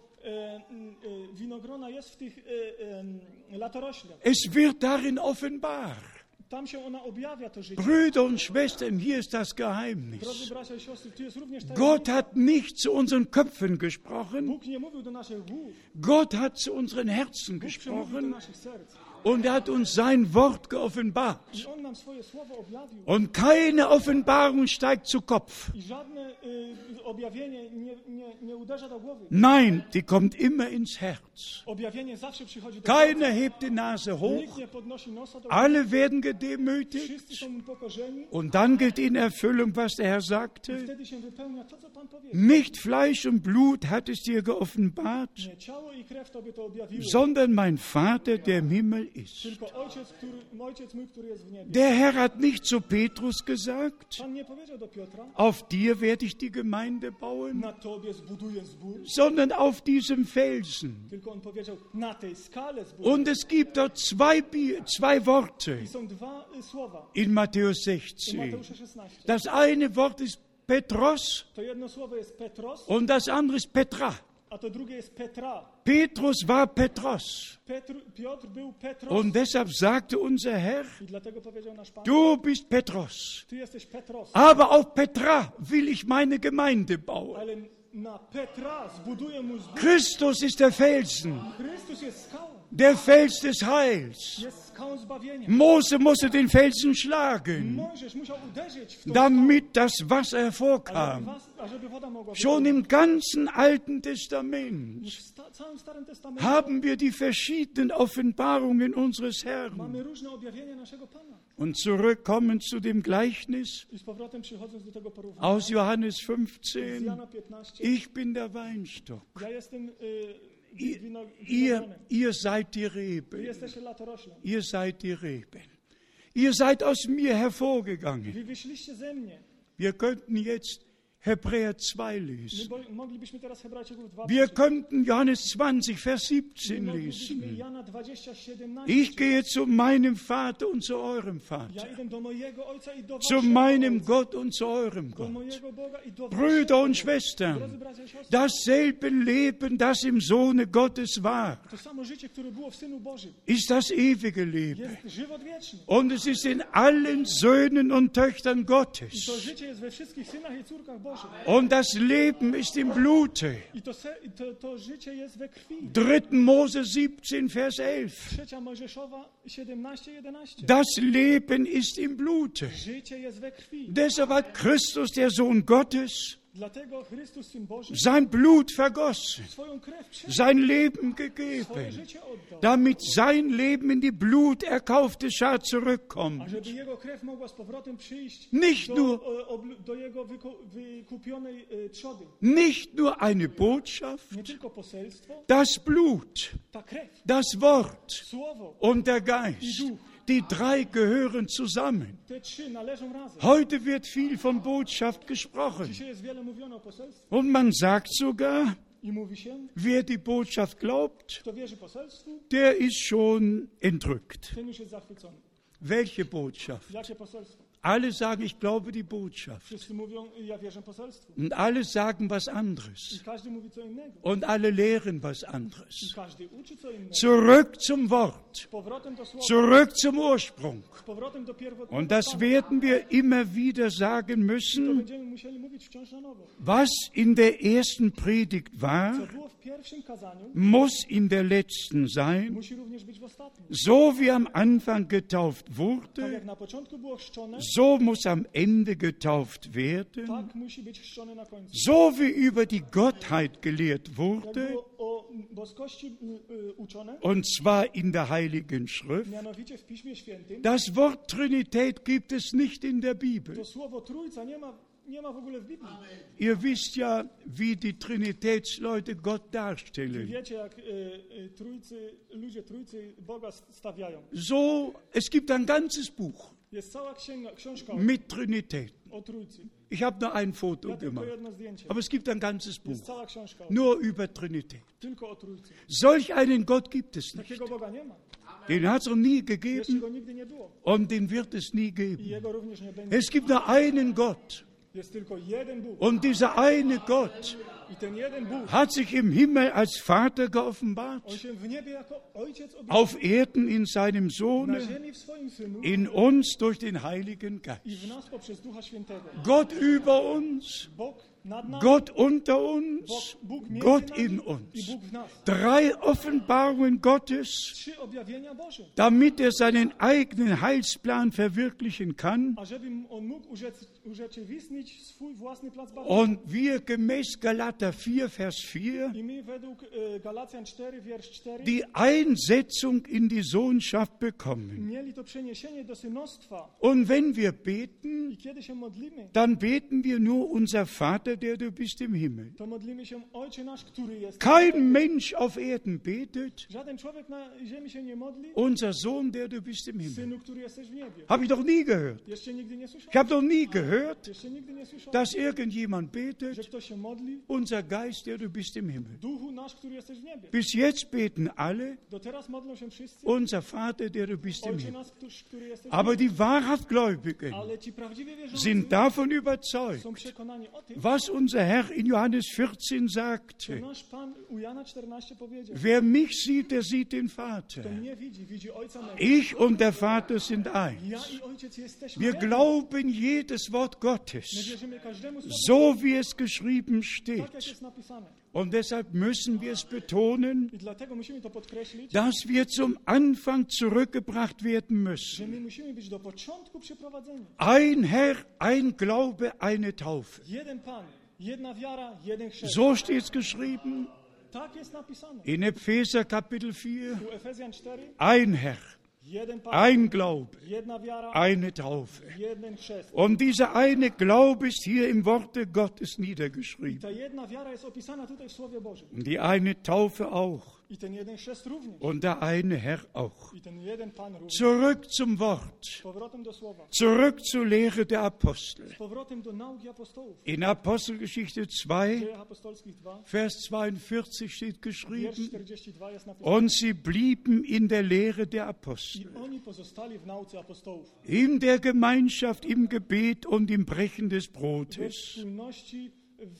winogrona jest w tych latoroślach. Es wird darin offenbar. Tam się ona objawia, to życie. Brüder und Schwestern, hier ist das Drodzy Geheimnis. bracia i siostry, tu jest również ta Gott hat nicht zu unseren Köpfen gesprochen, Bóg nie mówił do naszych głów, Gott hat zu unseren Herzen Bóg przemówił do gesprochen naszych serc. und er hat uns sein Wort geoffenbart. I On nam swoje słowo objawił. Und keine Offenbarung steigt zu Kopf. I żadne objawienie nie uderza do głowy. Nein, die kommt immer ins Herz. Objawienie zawsze przychodzi do Keiner hebt die Nase serca. hoch, Nikt nie podnosi nosa do góry. alle werden Wszyscy gedemütigt. są upokorzeni. Und dann geht in Erfüllung, was der Herr sagte. Wtedy się wypełnia to, co Pan powiedział. Nicht Fleisch und Blut hat es dir geoffenbart, Nie ciało i krew Tobie to objawiło, sondern mein Vater, der im Himmel ist. tylko Ojciec mój, który jest w niebie. Der Herr hat nicht zu Petrus gesagt, Pan nie powiedział do Piotra, auf dir werde ich die Gemeinde bauen, na Tobie zbuduję zbór, sondern auf diesem Felsen. tylko On powiedział, na tej skale zbuduję. Und es gibt dort zwei Worte I są dwa słowa in Matthäus w 16. Mateusza 16. Das eine Wort ist Petros To jedno słowo jest Petros, und das andere ist Petra. a to drugie jest Petra. Petrus war Petros. Piotr był Petros Und deshalb sagte unser Herr, i dlatego powiedział nasz Pan, du bist Petros. Ty jesteś Petros, Aber auf Petra will ich meine Gemeinde bauen. ale na Petra zbuduję mu zbór. Christus ist der Felsen. Chrystus jest skałą. Der Fels des Heils. jest skałą zbawienia. Mose musste den Felsen schlagen, Mojżesz musiał uderzyć w tą damit das Wasser skałę, hervorkam. ażeby woda mogła Schon im ganzen Alten Testament w całym Starym Testamencie haben wir die verschiedenen Offenbarungen unseres Herrn. mamy różne objawienia naszego Pana. Und zurückkommen zu dem Gleichnis I z powrotem przychodząc do tego porównania, aus Johannes z 15. Jana 15, Ich bin der Weinstock. ja jestem Ihr, winogronem, ihr seid die wy Reben. jesteście latoroślą. Ihr seid die Reben. Ihr seid aus mir hervorgegangen. Wy wyszliście ze mnie. Wir könnten jetzt Hebräer 2 lesen. Moglibyśmy teraz Hebrajczyków 2 Wir könnten Johannes 20, Vers 17 moglibyśmy lesen. Jana 20, 17 Ich gehe zu meinem Vater und zu eurem Ja Vater, idę do mojego Ojca i do zu waszego meinem Ojca, Gott und zu eurem do Gott. mojego Boga i do Brüder waszego und Boga. Schwestern, Drodzy bracia i siostry, dasselbe Leben, das im Sohne Gottes war, to samo życie, które było w Synu Bożym, ist das ewige Leben. jest żywot wieczny. Und es ist in allen Söhnen und Töchtern I Gottes. to życie jest we wszystkich synach i córkach Bożych. Und das Leben ist im Blute. I to życie jest we krwi. 3. Mose 17, Vers 11. 3 Mojżeszowa 17, 11. Das Leben ist im Blute. Życie jest we krwi. Deshalb hat Christus, der Sohn Gottes, Dlatego Chrystus, Syn Boży, sein Blut vergossen, swoją krew przelał, sein Leben swoje gegeben, życie oddał, damit sein Leben in die bluterkaufte Schar a zurückkommt. żeby Jego krew mogła z powrotem przyjść Nicht nur, do Jego wykupionej trzody. nicht nur eine Botschaft, Nie tylko poselstwo, das Blut, ta krew, das Wort słowo, und der Geist. Die drei gehören zusammen. te trzy należą razem. Heute wird viel von Botschaft gesprochen. Dzisiaj jest wiele mówione o poselstwie Und man sagt sogar, i mówi się, wer die Botschaft glaubt, kto wierzy poselstwu, der ist schon entrückt. ten już jest zachwycony. Welche Botschaft? Jakie poselstwo? Alle sagen, ich glaube die Botschaft. Wszyscy mówią, ja wierzę poselstwu. Und alle sagen was I anderes. każdy mówi co innego. Und alle lehren was I anderes. każdy uczy co innego. Zurück zum Wort. Z powrotem do słowa, Zurück zum Ursprung. z powrotem do pierwotnego Und das stanu. werden wir immer wieder sagen To müssen, będziemy musieli mówić wciąż na nowo. was in der ersten Predigt war, Co było w pierwszym kazaniu, muss in der letzten sein. musi również być w ostatnim. So wie am Anfang getauft Tak wurde, jak na początku było chrzczone, so muss am Ende getauft werden. tak musi być chrzczone na końcu. So wie über die Gottheit gelehrt Jak wurde, było o boskości uczone, und zwar in der Heiligen Schrift. mianowicie w Piśmie Świętym, Das Wort Trinität gibt es nicht in der Bibel. to słowo Trójca nie ma w ogóle w Biblii. Ihr wisst ja, wie die Trinitätsleute Gott darstellen. Wiecie, jak ludzie Trójcy Boga stawiają. So, es gibt ein ganzes Buch Jest cała książka mit Trinität. o Trójcy. Ich habe nur ein Foto Ja tylko gemacht, jedno zdjęcie. aber es gibt ein ganzes Jest Buch cała książka nur über Trinität. tylko o Trójcy. Solch einen Gott gibt es nicht. Takiego Boga nie ma. Den hat es noch nie Jeszcze gegeben go nigdy nie było. und den wird es nie I geben. jego również nie będzie. Es gibt nur einen Gott Jest tylko jeden Bóg. und dieser eine Gott I ten jeden Bóg, hat sich im Himmel als Vater geoffenbart, on się w niebie jako Ojciec objawił. auf Erden in seinem Na Sohne, ziemi w swoim Synu in uns durch den Heiligen i w Geist. nas poprzez Ducha Świętego. Gott über uns, Bóg nad nami, Gott unter uns, Bóg między Gott nami in i uns. Bóg w nas. Drei Offenbarungen Gottes, 3 objawienia Boże. damit er seinen eigenen Heilsplan verwirklichen kann Ażeby on mógł urzeczywistnić swój własny plac zbawienia. und wir gemäß Galater 4, Vers 4 I my według Galacjan 4, wiersz 4 die Einsetzung in die Sohnschaft bekommen. mieli to przeniesienie do synostwa. Und wenn wir beten, I kiedy się modlimy, dann beten wir nur unser Vater, der du bist im Himmel. to modlimy się Ojcze nasz, który jest. Kein Mensch auf Erden betet, Żaden człowiek na ziemi się nie modli. unser Sohn, der du bist im Himmel. Synu, który jesteś w niebie. Habe ich doch nie gehört. Jeszcze nigdy nie Ich słyszałem. habe doch nie gehört, Jeszcze nigdy nie słyszałem, dass irgendjemand że betet, ktoś się modli. unser Geist, der du bist im Himmel. Duchu nasz, który jesteś w niebie. Bis jetzt beten alle, Do teraz modlą się wszyscy. unser Vater, der du bist im Ojcze Himmel. nasz, który jesteś w Aber niebie. die wahrhaft Gläubigen Ale ci prawdziwie wierzący sind davon überzeugt, są przekonani o tym, was unser Herr in Johannes 14 że sagte. nasz Pan u Jana 14 powiedział. Wer mich sieht, der sieht den Kto Vater. mnie widzi, widzi Ojca mego. Ich und der Vater sind Ja eins. i Ojciec jesteśmy Wir jedno. glauben jedes Wort My Gottes, wierzymy każdemu słowu, so wie es geschrieben steht. tak jak jest napisane. Und deshalb müssen wir es betonen, I dlatego musimy to podkreślić, dass wir zum Anfang zurückgebracht werden że müssen. my musimy być do początku przyprowadzeni. Ein Herr, ein Glaube, eine Taufe. Jeden Pan, jedna wiara, jeden chrzest. So steht es geschrieben Tak jest napisane. in Epheser Kapitel 4. U Efezjan 4, Ein Herr, jeden Pan, ein Glaube, jedna wiara, eine Taufe. jeden chrzest. Und dieser eine Glaube ist hier im Worte Gottes I niedergeschrieben. ta jedna wiara jest opisana tutaj w Słowie Bożym. Und die eine Taufe auch. I ten jeden chrzest również. Und der eine Herr auch. I ten jeden Pan również. Zurück zum Wort. Z powrotem do Słowa. Zurück zur Lehre der Apostel. Z powrotem do nauki apostołów. In Apostelgeschichte 2, W Dziejach Apostolskich 2, Vers 42 steht wiersz geschrieben, 42 jest napisane. und sie blieben in der Lehre der I Apostel, oni pozostali w nauce apostołów. in der Gemeinschaft, im Gebet und im Brechen des We Brotes. wspólności,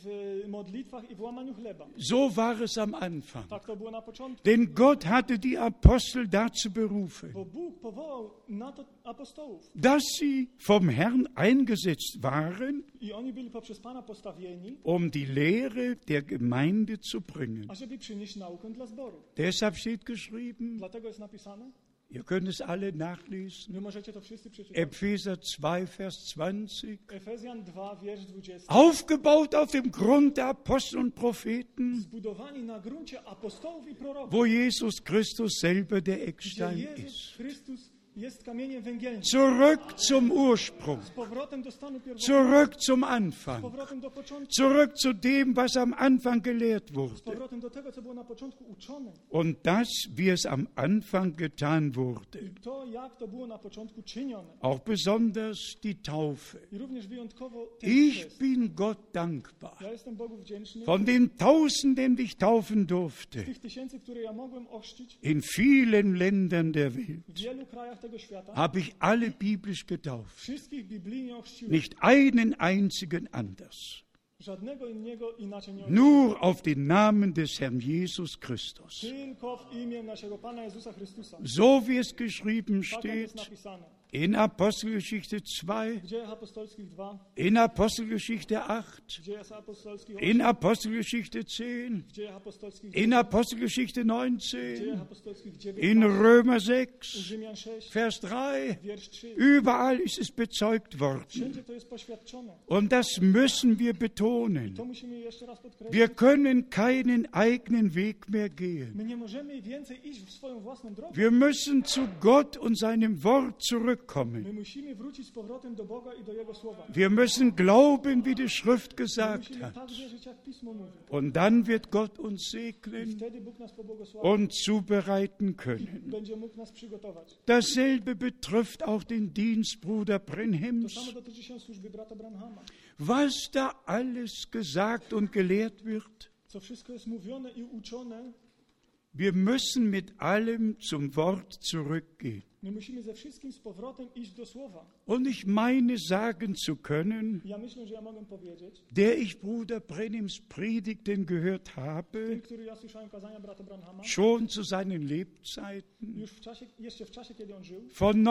w modlitwach i w łamaniu chleba. So war es am Anfang. Tak to było na początku. Denn Gott hatte die Apostel dazu berufen, Bo Bóg powołał na to apostołów. dass sie vom Herrn eingesetzt waren, I oni byli poprzez Pana postawieni, um die Lehre der Gemeinde zu bringen. ażeby przynieść naukę dla zboru. Deshalb steht geschrieben, Dlatego jest napisane, ihr könnt es alle nachlesen, wy możecie to wszyscy przeczytać. Epheser 2, Vers 20, Efezjan 2, wiersz 20. aufgebaut auf dem Grund der Apostel und Propheten, Zbudowani na gruncie apostołów i proroków, wo Jesus Christus selber der gdzie Eckstein Jezus ist. Chrystus jest kamieniem węgielnym. Zurück zum Ursprung, Z powrotem do stanu pierwotnego, zurück zum z Anfang, powrotem do początku, zurück zu dem, was am Anfang gelehrt z wurde. powrotem do tego, co było na początku uczone. Und das, wie es am Anfang getan wurde. I to, jak to było na początku czynione. Auch besonders die Taufe. I również wyjątkowo ten Ich chrzest. bin Gott dankbar. Ja jestem Bogu wdzięczny. Von den Tausenden, die ich taufen durfte, Tych tysięcy, które ja mogłem ochrzcić in vielen Ländern der Welt, w wielu krajach tego świata, habe ich alle biblisch getauft. wszystkich biblijnie ochrzciłem. Nicht einen einzigen anders. Żadnego innego inaczej nie ochrzciłem. Nur auf den Namen des Herrn Jesus Christus. Tylko w imię naszego Pana Jezusa Chrystusa. So wie es geschrieben Tak jak jest steht napisane. in Apostelgeschichte 2, W Dziejach Apostolskich 2, in Apostelgeschichte 8, w Dziejach Apostolskich 8, in Apostelgeschichte 10, w Dziejach Apostolskich in 10, Apostelgeschichte w 19, Dziejach Apostolskich in 19, Römer u 6, Rzymian 6, Vers 3. wiersz 3. Überall ist es bezeugt worden. Wszędzie to jest poświadczone. Und das müssen wir betonen. To musimy jeszcze raz podkreślić. Wir können keinen eigenen Weg mehr gehen. My nie możemy więcej iść w swoją własną drogę. Wir müssen zu Gott und seinem Wort My zurückkommen. musimy wrócić z powrotem do Boga i do Jego Słowa. Wir müssen glauben, wie die Schrift My gesagt musimy hat. tak wierzyć, jak Pismo mówi. Und dann wird Gott uns I segnen wtedy Bóg nas pobłogosławi. und zubereiten können. Będzie mógł nas przygotować. Dasselbe betrifft auch den Dienst Bruder To Brenhims. samo dotyczy się służby brata Branhama. Was da alles gesagt und gelehrt wird, Co wszystko jest mówione i uczone, wir müssen mit allem zum Wort zurückgehen. my musimy ze wszystkim z powrotem iść do Słowa. Und ich meine sagen zu können, Ja myślę, że ja mogę powiedzieć, der ich Bruder Brenhims Predigten gehört ten, habe, który ja słyszałem kazania brata Branhama, schon zu seinen Lebzeiten, już jeszcze w czasie, kiedy on żył, von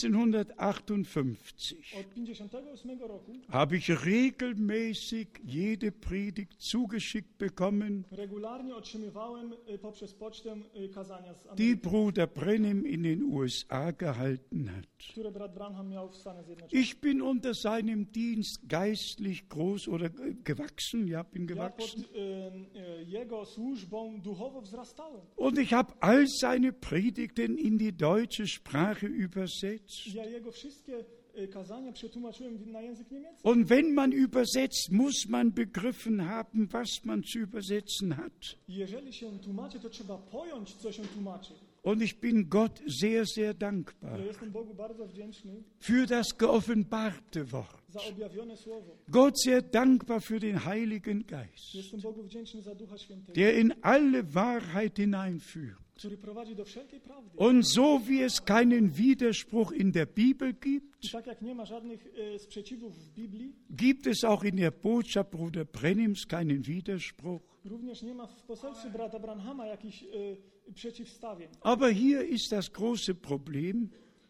1958, od 58 roku, habe ich regelmäßig jede Predigt zugeschickt bekommen, regularnie otrzymywałem poprzez pocztę kazania z die Ameryki, Bruder Brenhim in den USA gehalten hat. które brat Branham miał w Stanach Zjednoczonych. Ich bin unter seinem Dienst geistlich groß oder gewachsen, ja, bin Ja pod gewachsen. jego służbą duchowo wzrastałem. Und ich habe all seine Predigten in die deutsche Sprache übersetzt. Ja jego wszystkie kazania przetłumaczyłem na język niemiecki. Und wenn man übersetzt, muss man begriffen haben, was man zu übersetzen hat. I jeżeli się tłumaczy, to trzeba pojąć, co się tłumaczy. Und ich bin Gott sehr, sehr dankbar Ja jestem Bogu bardzo wdzięczny für das geoffenbarte Wort. za objawione słowo. Gott sehr dankbar für den Heiligen Geist, Jestem Bogu wdzięczny za Ducha Świętego, der in alle Wahrheit hineinführt. który prowadzi do wszelkiej prawdy. Und so wie es keinen Widerspruch in der Bibel I gibt, tak jak nie ma żadnych sprzeciwów w Biblii, gibt es auch in der Botschaft Bruder Brenhims keinen Widerspruch. również nie ma w poselstwie brata Branhama jakichś przeciwstawień. Aber hier ist das große Problem,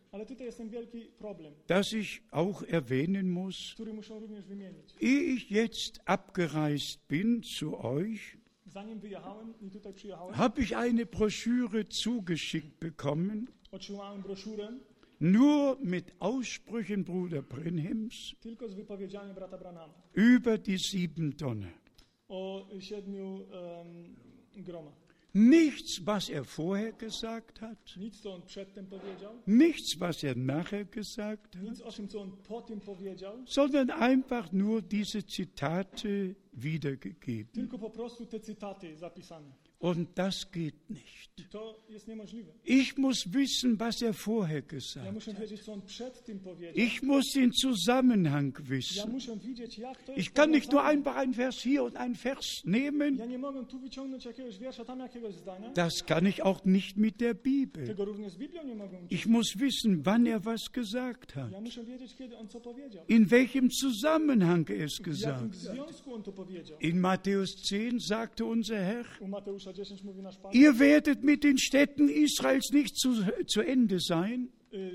Ale tutaj jest ten wielki problem, das ich auch erwähnen muss. który muszę również wymienić. Ehe ich jetzt abgereist bin zu euch, Zanim wyjechałem i tutaj przyjechałem, habe ich eine Broschüre zugeschickt bekommen, otrzymałem broszurę nur mit Aussprüchen Bruder Brenhims tylko z wypowiedziami brata Branhama über die 7 Tonnen. o 7 gromach. Nichts, was er vorher gesagt hat, Nic, co on przedtem powiedział, nichts, was er nachher gesagt hat, nic o tym, co on po tym powiedział, sondern einfach nur diese Zitate wiedergegeben. tylko po prostu te cytaty zapisane. Und das geht nicht. I to jest niemożliwe. Ich muss wissen, was er vorher Ja gesagt muszę hat. wiedzieć, co on przed tym powiedział. Ich muss den Zusammenhang Ja wissen. muszę widzieć, jak to jest Ich kann nicht nur powiązane. einfach einen Vers hier und einen Vers nehmen. Ja nie mogę tu wyciągnąć jakiegoś wiersza, tam jakiegoś zdania. Das kann ich auch nicht mit der Bibel. Tego również z Biblią nie mogę uczynić. Ich muss wissen, wann er was gesagt hat. Ja muszę wiedzieć, kiedy on co powiedział. In welchem Zusammenhang er es W jakim gesagt hat. związku on to powiedział. In Matthäus 10 sagte unser Herr, U Mateusza 10 mówi nasz Pan, ihr werdet mit den Städten Israels nicht zu Ende sein,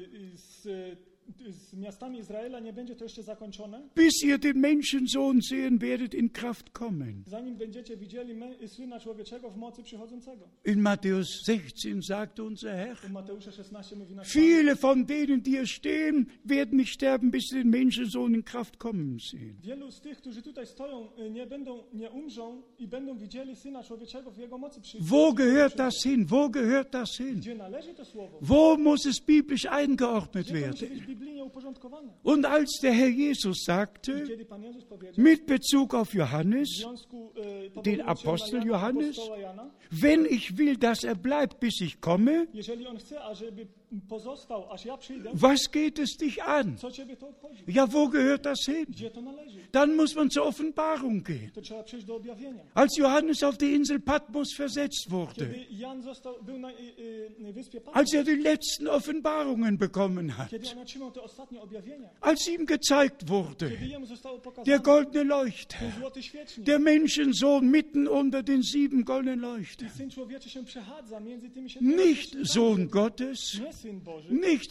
z miastami Izraela nie będzie to jeszcze zakończone, bis ihr den Menschensohn sehen werdet in Kraft kommen. zanim będziecie widzieli Syna Człowieczego w mocy przychodzącego. In Matthäus 16 sagte unser Herr, U Mateusza 16 mówi nasz Pan, viele von denen, die hier stehen, werden nicht sterben, bis sie den Menschensohn in Kraft kommen sehen. wielu z tych, którzy tutaj stoją, nie umrzą i będą widzieli Syna Człowieczego w Jego mocy Wo gehört das hin? Wo gehört das hin? Gdzie należy to słowo? Wo muss es biblisch eingeordnet Gdzie to musi werden? być biblijnie uporządkowane? Und als der Herr Jesus sagte, Kiedy Pan Jezus powiedział, mit Bezug auf w Johannes, związku den powołując się Apostel na Jana, Johannes, apostoła Jana, wenn ich will, dass er bleibt, bis ich komme, jeżeli on chce, ażeby pozostał, aż ja przyjdę, was geht es dich an? co ciebie to obchodzi? Ja, wo gehört das hin? Gdzie to należy? Dann muss man zur Offenbarung gehen. To trzeba przejść do objawienia. Als Johannes auf die Insel Patmos versetzt wurde, Kiedy Jan był na wyspie Patmos, als er die letzten Offenbarungen bekommen hat, kiedy on otrzymał te ostatnie objawienia, als ihm gezeigt wurde, kiedy jemu zostało der pokazane goldene Leuchter, ten złoty świecznik, der Menschensohn mitten unter den 7 goldenen Leuchtern, Syn Człowieczy się przechadza między tymi 7 nicht Sohn Gottes, nie Syn Boży,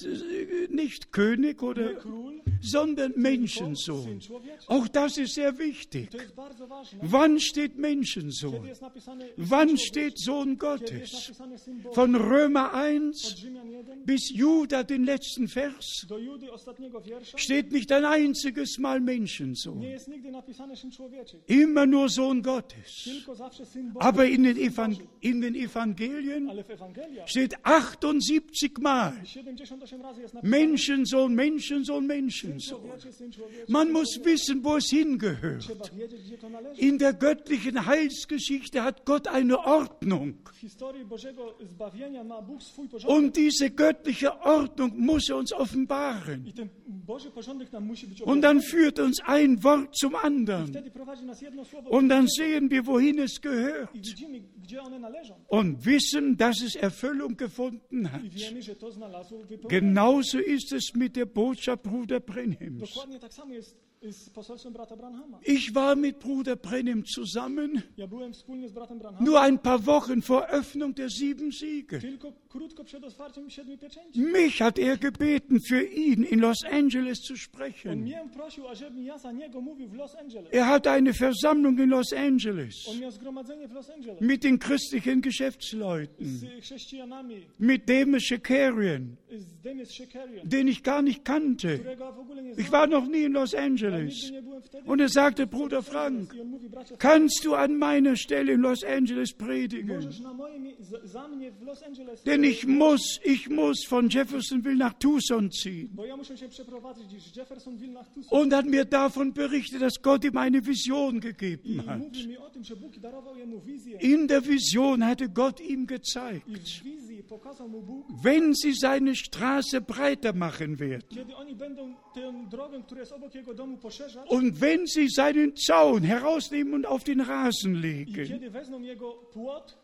nicht König nie oder, król, sondern Syn Menschensohn. Człowieczy. Auch das ist sehr wichtig. To jest bardzo ważne. Wann steht Kiedy Menschensohn? jest napisane Syn Wann Człowieczy, steht Sohn kiedy jest Gottes? napisane Syn Boży, Von Römer 1 od Rzymian 1 bis Juda, den letzten Vers, do Judy ostatniego wiersza, steht nicht ein einziges Mal nie Menschensohn. jest nigdy napisane Syn Człowieczy, Immer nur Sohn Gottes. tylko zawsze Syn Boży. Aber in Syn den Boży. Evangelien Ale w Ewangeliach steht 78 Mal 78 razy jest napisane Menschensohn, Menschensohn, Syn Menschensohn. Człowieczy, Syn Człowieczy. Man Syn muss Człowieczy. wissen, wo es hingehört. Trzeba wiedzieć, gdzie to należy. In der göttlichen Heilsgeschichte hat Gott eine Ordnung. W historii Bożego zbawienia ma Bóg swój porządek. Und diese göttliche Ordnung muss er uns offenbaren. I ten Boży porządek nam musi być Und dann führt uns ein Wort zum anderen. Wtedy prowadzi nas jedno słowo Und dann sehen wir, wohin es i gehört. widzimy, gdzie one należą. Und wissen, dass es Erfüllung gefunden hat. I wiemy, że to znalazło wypełnienie. Genauso ist es mit der Botschaft Bruder Brenhims. Dokładnie tak samo jest z poselstwem brata Branhama. Ich war mit Bruder Brenhim zusammen, Ja byłem wspólnie z bratem Branhamem nur ein paar Wochen vor Öffnung der 7 Siegel. tylko krótko przed otwarciem 7 pieczęci. Mich hat er gebeten, für ihn in Los Angeles zu On sprechen. mnie prosił, ażebym ja za niego mówił w Los Angeles. Er hatte eine Versammlung in Los Angeles On miał zgromadzenie w Los Angeles mit den christlichen Geschäftsleuten, z chrześcijanami, mit Demis Shakarian, z Demis Shakarian, den ich gar nicht kannte. którego w ogóle nie Ich znałem. war noch nie in Los Ja Angeles. nigdy nie byłem wtedy. Und er sagte, Bruder Frank, I on mówi, bracie, kannst du an meiner Stelle in Los Angeles predigen? możesz na moje za mnie w Los Angeles, Denn ich muss von Jeffersonville nach Tucson ziehen. bo ja muszę się przeprowadzić z Jeffersonville na Tucson. Und hat mir davon berichtet, dass Gott ihm eine Vision I gegeben hat. mówi mi o tym, że Bóg darował jemu wizję. In der Vision hatte Gott ihm I gezeigt, w wizji pokazał mu Bóg, wenn sie seine Straße breiter machen werden kiedy oni będą tę drogę, która jest obok jego domu, poszerzać und wenn sie seinen Zaun herausnehmen und auf den Rasen i legen, kiedy wezmą jego płot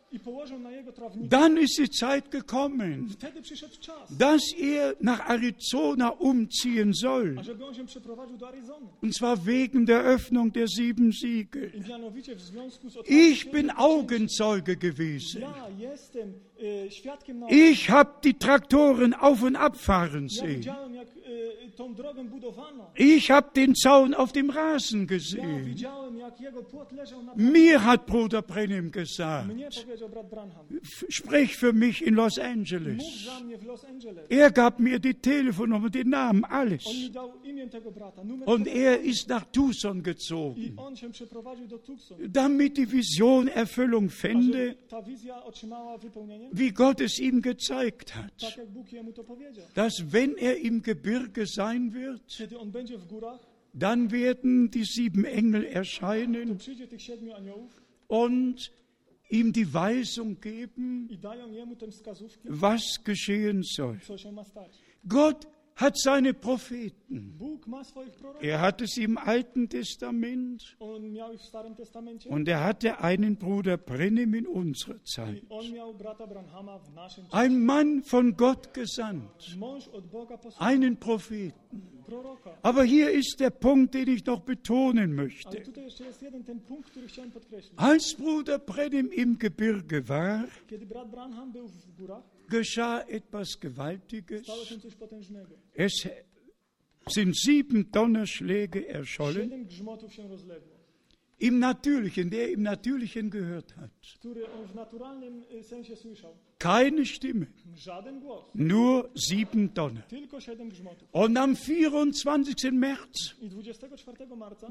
i położył na jego trawniku. Dann ist die Zeit gekommen, Wtedy przyszedł czas, dass er nach Arizona umziehen soll. ażeby on się przeprowadził do Arizony. Und zwar wegen der Öffnung der 7 Siegel. I mianowicie w związku z Ich otwarciem bin księgi, Augenzeuge gewesen. ja jestem świadkiem na Ich habe die Traktoren auf und abfahren Ja sehen. widziałem, jak tą drogę budowano. Ich habe den Zaun auf dem Rasen Ja gesehen. widziałem, jak jego płot leżał na Mir hat Bruder Brennim gesagt, Mnie powiedział brat Branham. sprech für mich in Los Mów Angeles. za mnie w Los Angeles. Er gab mir die Telefonnummer, den Namen, On alles. mi dał imię tego brata, numer Und tego er brata. ist nach Tucson I gezogen, on się przeprowadził do Tucson. damit die Vision Erfüllung fände, Żeby ta wizja otrzymała wypełnienie, wie Gott es ihm gezeigt hat. tak jak Bóg jemu to powiedział. Dass wenn er im Gebirge sein wird, Kiedy on będzie w górach, dann werden die 7 Engel to erscheinen przyjdzie tych 7 aniołów und ihm die Weisung geben, i dają jemu tę wskazówkę, was geschehen soll. co się ma stać. Gott hat seine Propheten. Bóg ma swoich proroków. Er hat es im Alten Testament On miał ich w Starym Testamencie und er hatte einen Bruder Brennim in unserer i Zeit. on miał brata Branhama w naszym czasie. Ein Mann von Gott gesandt, Mąż od Boga posłany, einen Propheten. proroka. Aber hier ist der Punkt, den ich noch betonen Ale möchte. tutaj jeszcze jest jeden ten punkt, który chciałem podkreślić. Als Bruder Brennim im Gebirge war, Kiedy brat Branham był w górach, geschah etwas Gewaltiges. stało się coś potężnego. Es sind 7 Donnerschläge erschollen, 7 grzmotów się rozległo, im Natürlichen, der im Natürlichen gehört hat. który on w naturalnym sensie słyszał. Keine Stimme, Żaden głos, nur 7 Donner. tylko 7 grzmotów. Und am 24. März I 24 marca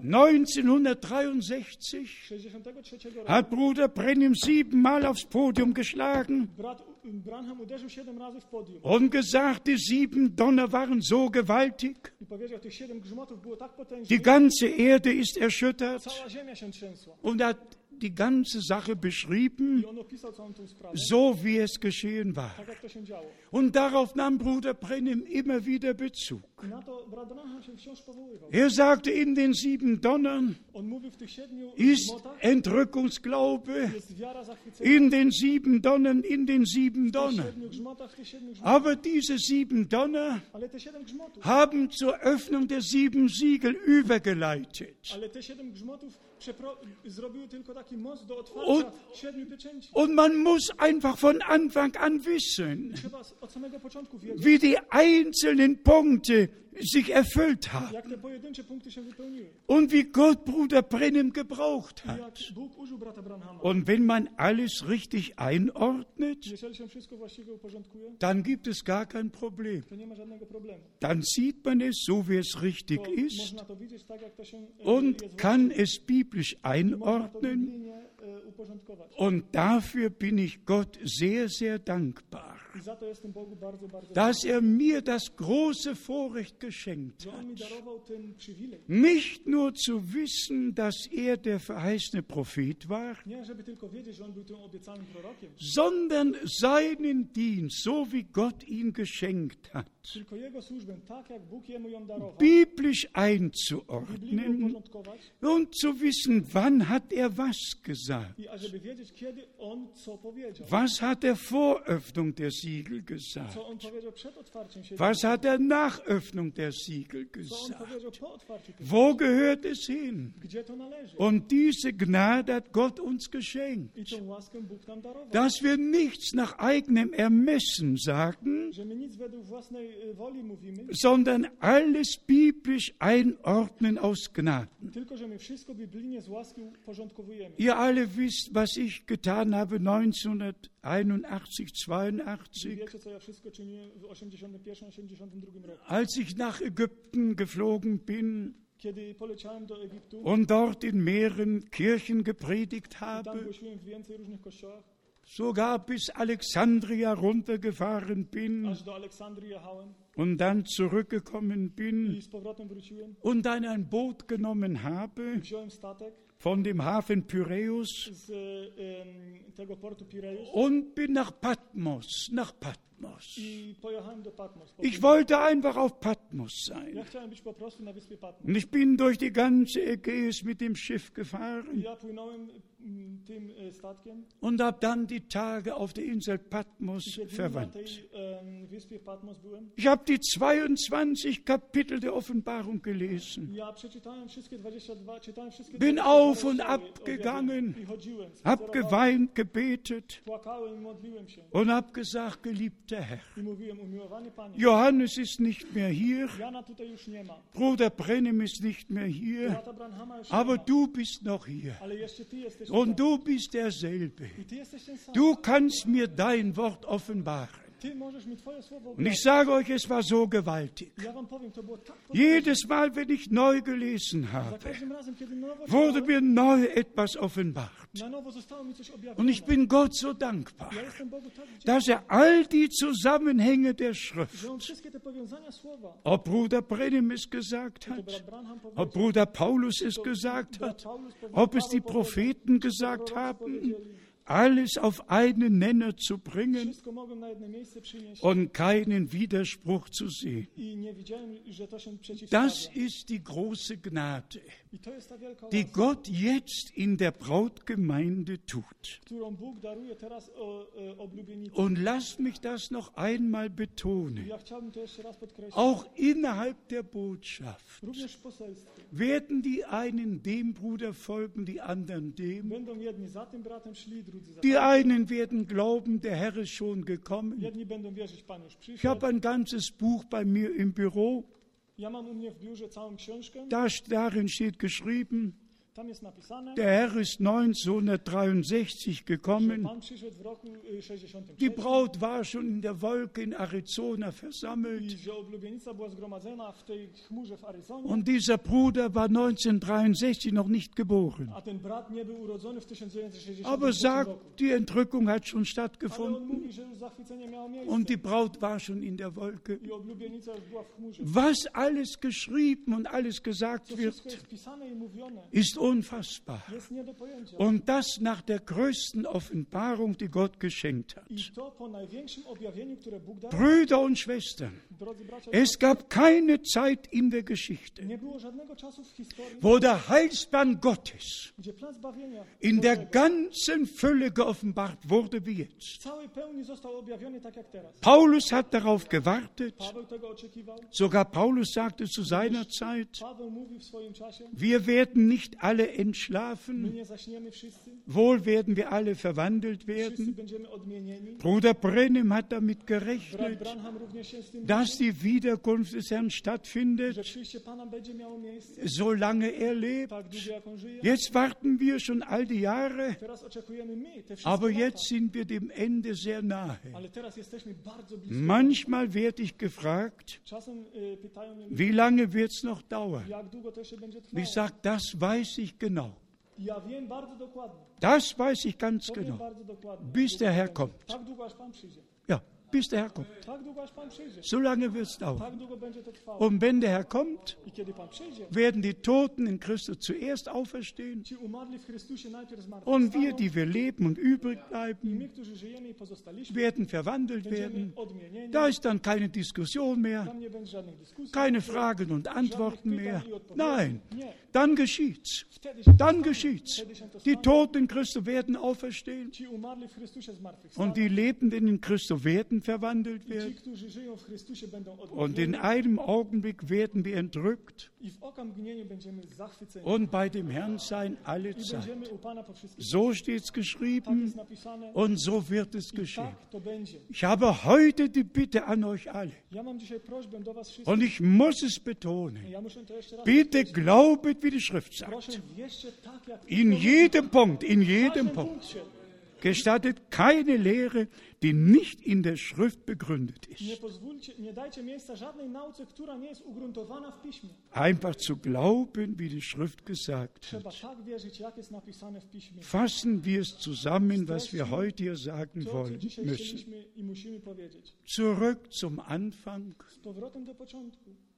1963 63 roku hat Bruder Brennim 7 Mal aufs Podium geschlagen brat Branham uderzył 7 razy w podium und gesagt, die 7 Donner waren so gewaltig, i powiedział, tych 7 grzmotów było tak die potężnych, ganze Erde ist erschüttert cała ziemia się trzęsła. und hat die ganze Sache beschrieben, I on opisał całą tą sprawę, so wie es geschehen war. tak jak to się działo. Und darauf nahm Bruder Brennim immer wieder Bezug. I na to brat Branham się wciąż powoływał. Er sagte, in den 7 Donnern On mówił, w tych 7 ist grzmotach Entrückungsglaube, jest wiara zachwycenia. in den 7 Donnern, in den 7 W tych Donnern. 7 grzmotach, w tych 7 grzmotach. Aber diese 7 Donner Ale te 7 grzmotów, haben zur Öffnung der 7 Siegel übergeleitet. ale te 7 grzmotów zrobiły tylko taki most do otwarcia Und- 7 pieczęci. Und man muss einfach von Anfang an wissen, Trzeba od samego początku wiedzieć, wie die einzelnen Punkte sich erfüllt haben jak te pojedyncze punkty się wypełniły. und wie Gott Bruder Brennim gebraucht I jak hat. Bóg użył brata Branhama. Und wenn man alles richtig einordnet, Jeżeli się wszystko właściwie uporządkuje, dann gibt es gar kein Problem. to nie ma żadnego problemu. Dann sieht man es so, wie es richtig To ist można to widzieć tak, jak to się und jest kann es biblisch właściwie. Można to einordnen. biblijnie uporządkować. Und dafür bin ich Gott sehr, sehr dankbar, I za to jestem Bogu bardzo, bardzo dass er mir das große Vorrecht geschenkt że On mi hat, darował ten przywilej. nicht nur zu wissen, dass er der verheißene Prophet war, Nie, żeby tylko wiedzieć, że On był tym obiecanym prorokiem, sondern seinen Dienst, so wie Gott ihn geschenkt hat, tylko Jego służbę, tak jak Bóg Jemu ją darował, biblisch biblijnie einzuordnen uporządkować und zu wissen, wann hat er was gesagt, i ażeby wiedzieć, kiedy On co powiedział. was hat er vor Öffnung der Siegel gesagt, Co On powiedział przed otwarciem się, was hat er nach Öffnung der Siegel co On gesagt, powiedział po otwarciu tych wo gehört es hin? gdzie to należy. Und diese Gnade hat Gott uns geschenkt, I tą łaskę Bóg nam darował. dass wir nichts nach eigenem Ermessen sagen, Że my nic według własnej woli mówimy, sondern alles biblisch einordnen aus Gnaden. tylko że my wszystko biblijnie z łaski uporządkowujemy. Ihr alle wisst, was ich getan habe 1981, 82, Wiecie, co ja wszystko czyniłem w 81-82 roku. als ich nach Ägypten geflogen bin Kiedy poleciałem do Egiptu, und dort in mehreren Kirchen gepredigt tam habe, głosiłem w więcej różnych kościołach, sogar bis Alexandria runtergefahren bin aż do Aleksandrii jechałem und dann zurückgekommen bin i z powrotem wróciłem. und dann ein Boot genommen habe Wziąłem statek von dem Hafen Pyräus z tego portu Pireus und bin nach Patmos Patmos. I pojechałem do Patmos. Ich wollte einfach auf Patmos sein. Ja chciałem być po prostu na wyspie Patmos. Und ich bin durch die ganze Ägäis mit dem Schiff gefahren Ja płynąłem tym statkiem. und habe dann die Tage auf der Insel Patmos I kiedy na verwandt. tej wyspie Patmos byłem. Ich habe die 22 Kapitel der Offenbarung gelesen, Ja przeczytałem wszystkie 22, czytałem wszystkie bin 22 auf und rozdziały ab gegangen, i chodziłem, habe spacerowałem, geweint, gebetet płakałem i modliłem się. und habe gesagt, geliebter Herr, I mówiłem, umiłowany Panie, Johannes ist nicht mehr hier, Jana tutaj już nie ma. Bruder Brennim ist nicht mehr hier, Brata Branhama już aber nie ma. du bist noch hier Ale jeszcze Ty jesteś und tutaj. du bist derselbe. I Ty jesteś ten sam. Du kannst mir dein Wort offenbaren. Ty możesz mi Twoje słowo Und ich objawić. sage euch, es war so gewaltig. Ja wam powiem, to było tak Jedes Mal, wenn ich neu gelesen Za habe, każdym razem, kiedy nowo wurde czytałem, mir neu etwas offenbart. na nowo zostało mi coś Und objawione. ich bin Gott so dankbar, Ja jestem Bogu tak wdzięczny, dass all die Zusammenhänge der Schrift, że on wszystkie te powiązania słowa, ob Bruder Brennim es gesagt to hat, brat Branham ob powiedział, Bruder Paulus es to gesagt brat hat, Paulus powiedział, ob es die Paweł powiedział, Propheten to gesagt prorocy haben, powiedzieli. alles auf einen Nenner zu bringen Wszystko mogłem na jedno miejsce przynieść und keinen Widerspruch zu sehen. i nie widziałem, że to się Das przeciwstawia. ist die große Gnade, I to jest ta wielka die łaska, Gott jetzt in der Brautgemeinde tut. którą Bóg daruje teraz oblubienicy. Und lasst mich das noch einmal betonen. Ja chciałbym to jeszcze raz podkreślić. Auch innerhalb der Botschaft Również w poselstwie. werden die einen dem Bruder folgen, die anderen dem. Będą jedni za tym bratem szli, drudzy za Die tym. einen werden glauben, der Herr ist schon gekommen. Jedni będą wierzyć, Pan już Ich przyszedł. habe ein ganzes Buch bei mir im Büro. Ja mam u mnie w biurze całą książkę. Darin steht geschrieben, Tam jest napisane, der Herr ist 1963 że gekommen. Pan przyszedł w roku 63 Die Braut war schon in der Wolke in Arizona i versammelt. że oblubienica była zgromadzona w tej chmurze w Aryzonie, Und dieser Bruder war 1963 noch nicht geboren. a ten brat nie był urodzony w 1963 Aber roku. sagt, die Entrückung hat schon Ale on stattgefunden mówi, że już zachwycenie miało miejsce und die Braut war schon in der Wolke. i oblubienica już była w chmurze. Was alles geschrieben und alles gesagt To wszystko wird, jest pisane i mówione. ist unfassbar. Jest nie do pojęcia. Und das nach der größten Offenbarung, die Gott geschenkt hat. I to po największym objawieniu, które Bóg dał. Brüder und Schwestern, Drodzy bracia, es gab keine Zeit in der Geschichte, nie było żadnego czasu w historii, wo der Heilsplan Gottes gdzie plan zbawienia in der Bożego ganzen Fülle geoffenbart wurde wie w jetzt. całej pełni został objawiony tak jak teraz. Paulus hat darauf gewartet. Paweł tego oczekiwał. Sogar Paulus sagte zu seiner Zeit, Paweł mówił w swoim czasie, wir werden nicht alle my entschlafen, nie zaśniemy wszyscy, wohl werden wir alle verwandelt wszyscy werden. będziemy odmienieni. Bruder Brennim hat damit Brat gerechnet, Branham również się z tym dass die Wiederkunft des Herrn że stattfindet, przyjście Pana będzie miało miejsce, solange er lebt. tak długo jak On żyje. Jetzt warten wir schon all die Jahre, Teraz oczekujemy my te wszystkie aber lata, jetzt sind wir dem Ende sehr nahe. ale teraz jesteśmy bardzo blisko. Manchmal werde ich gefragt, Czasem pytają mnie, wie lange wird es noch dauern? jak długo to jeszcze będzie Und trwało. ich sage, das weiß ich genau. Ja wiem bardzo dokładnie. Das weiß ich ganz To wiem genau. bardzo dokładnie. Bis der Herr kommt. Tak długo aż Pan przyjdzie. Ja, bis der Herr kommt. Tak długo aż Pan przyjdzie. So lange wird es dauern. Tak długo będzie to trwało. Und wenn der Herr kommt, I kiedy Pan przyjdzie, werden die Toten in Christus zuerst auferstehen ci umarli w Chrystusie najpierw und wir, zmartwychwstaną die wir leben und übrig i bleiben, my, którzy żyjemy i pozostaliśmy, werden verwandelt będziemy werden. odmienieni. Da ist dann keine Diskussion mehr, Tam nie będzie żadnych dyskusji, keine Fragen und Antworten mehr. Nein, Nie. dann geschieht's. Wtedy się to Dann stanie. geschieht's. Wtedy się to Die stanie. Toten in Christus werden auferstehen Ci umarli w Chrystusie zmartwychwstaną. und die Lebenden in Christus werden verwandelt I ci, werden. którzy żyją w Chrystusie, będą Und in odnowieni. einem Augenblick werden wir entrückt I w oka mgnieniu będziemy zachwyceni. und bei dem Herrn sein alle I Zeit. będziemy u Pana po wszystkim. So steht's Tak geschrieben jest napisane. und so wird es I geschehen. tak to będzie. Ich habe heute die Bitte an euch alle Ja mam dzisiaj prośbę do was wszystkich. und ich muss es betonen. Ja muszę to jeszcze raz Bitte podkreślić. glaubet, wie die Schrift sagt. Proszę, wierzcie tak, jak In jedem Punkt, in w jedem każdym Punkt punkcie. gestattet keine Lehre, die nicht in der Schrift begründet Nie ist. pozwólcie, nie dajcie miejsca żadnej nauce, która nie jest ugruntowana w Piśmie. Einfach zu glauben, wie die Schrift gesagt Trzeba hat. tak wierzyć, jak jest napisane w Piśmie. Fassen wir es zusammen, was wir heute hier sagen To, co wollen dzisiaj müssen. chcieliśmy i musimy powiedzieć. Zurück zum Anfang, Z powrotem do początku.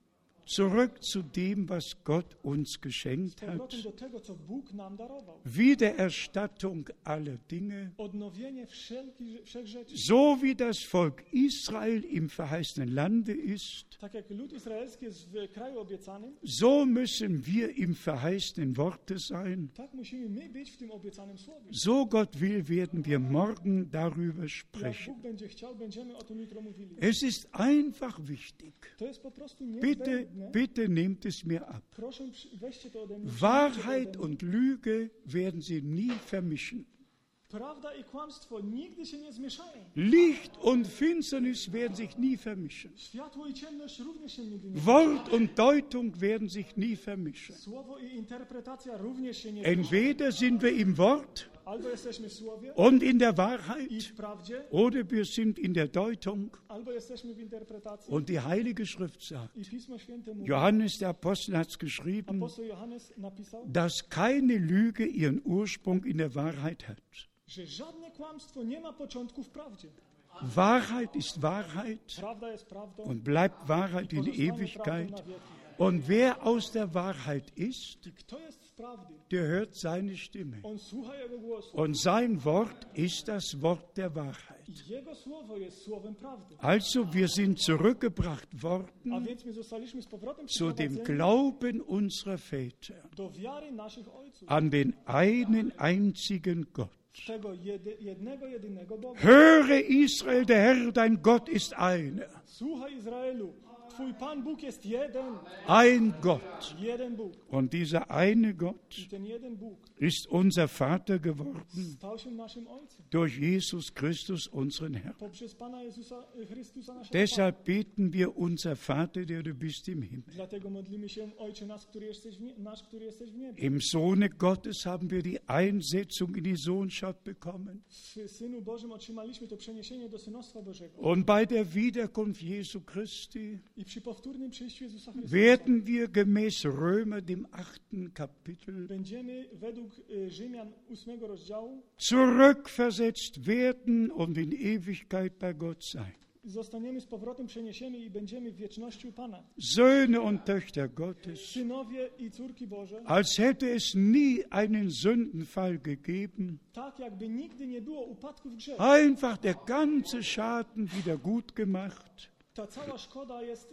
Zurück zu dem, was Gott uns Z geschenkt powrotem hat. do tego, co Bóg nam darował. Wiedererstattung aller Dinge. Odnowienie wszech rzeczy. So wie das Volk Israel im verheißenen Lande ist, Tak jak lud izraelski jest w kraju obiecanym, so müssen wir im verheißenen Worte sein. tak musimy my być w tym obiecanym słowie. So Gott will, werden wir morgen darüber Jak sprechen. Bóg będzie chciał, będziemy o tym jutro mówili. Es ist einfach wichtig. To jest po prostu Bitte, niezbędne. bitte nehmt es mir ab. Proszę, weźcie to ode mnie. Wahrheit przyjmijcie to ode mnie. und Lüge werden sie nie vermischen. Prawda i kłamstwo nigdy się nie zmieszają. Licht und Finsternis werden sich nie vermischen. Światło i ciemność również się nigdy nie Wort und Deutung werden sich nie vermischen. Słowo i interpretacja również się nie zmieszają. Entweder sind wir im Wort Albo jesteśmy w słowie und in der i Wahrheit, w prawdzie, oder wir sind in der Deutung. albo jesteśmy w interpretacji. Und die Heilige Schrift sagt, I Pismo Święte mówi, Johannes der Apostel hat es geschrieben, apostoł Johannes napisał, dass keine Lüge ihren Ursprung in der Wahrheit hat. że żadne kłamstwo nie ma początku w prawdzie. Wahrheit ist Wahrheit Prawda jest prawdą und bleibt Wahrheit in pozostanie Ewigkeit. prawdą na wieki. Und wer aus der Wahrheit ist, I kto jest z prawdy, der hört seine Stimme. on słucha Jego głosu. Und sein Wort ist das Wort der Wahrheit. I Jego słowo jest słowem prawdy. Also wir sind zurückgebracht A worden więc my zostaliśmy z powrotem zu dem przyprowadzeni Glauben unserer Väter do wiary naszych ojców. an den einen einzigen Gott. Tego jednego, jedynego Boga. Höre Israel, der Herr, dein Gott ist einer. Słuchaj Izraelu, Twój Pan Bóg jest jeden. Ein Gott. Jeden Bóg. Und dieser eine Gott I ten jeden Bóg ist unser Vater geworden stał się naszym Ojcem. durch Jesus Christus, unseren Herrn. Poprzez Pana Jezusa Chrystusa naszego Pana. Deshalb beten wir, unser Vater, der du bist im Himmel. Dlatego modlimy się, Ojcze nasz, który jesteś w niebie. Im Sohne Gottes haben wir die Einsetzung in die Sohnschaft bekommen. W Synu Bożym otrzymaliśmy to przeniesienie do synostwa Bożego. Und bei der Wiederkunft Jesu Christi I przy powtórnym przyjściu Jezusa Chrystusa werden wir gemäß Römer, dem 8. Kapitel, będziemy według Rzymian 8 rozdziału zurückversetzt werden und in Ewigkeit bei Gott sein. zostaniemy z powrotem przeniesieni i będziemy w wieczności u Pana. Söhne und Töchter Gottes, Synowie i córki Boże, als hätte es nie einen Sündenfall gegeben, tak jakby nigdy nie było upadku w grzechu. einfach der ganze Schaden wieder gut gemacht. Ta cała szkoda jest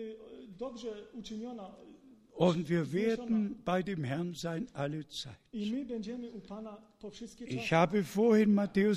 dobrze uczyniona Und wir werden bei dem Herrn sein alle Zeit. i my będziemy u Pana po wszystkie Ich czasy. habe vorhin Matthäus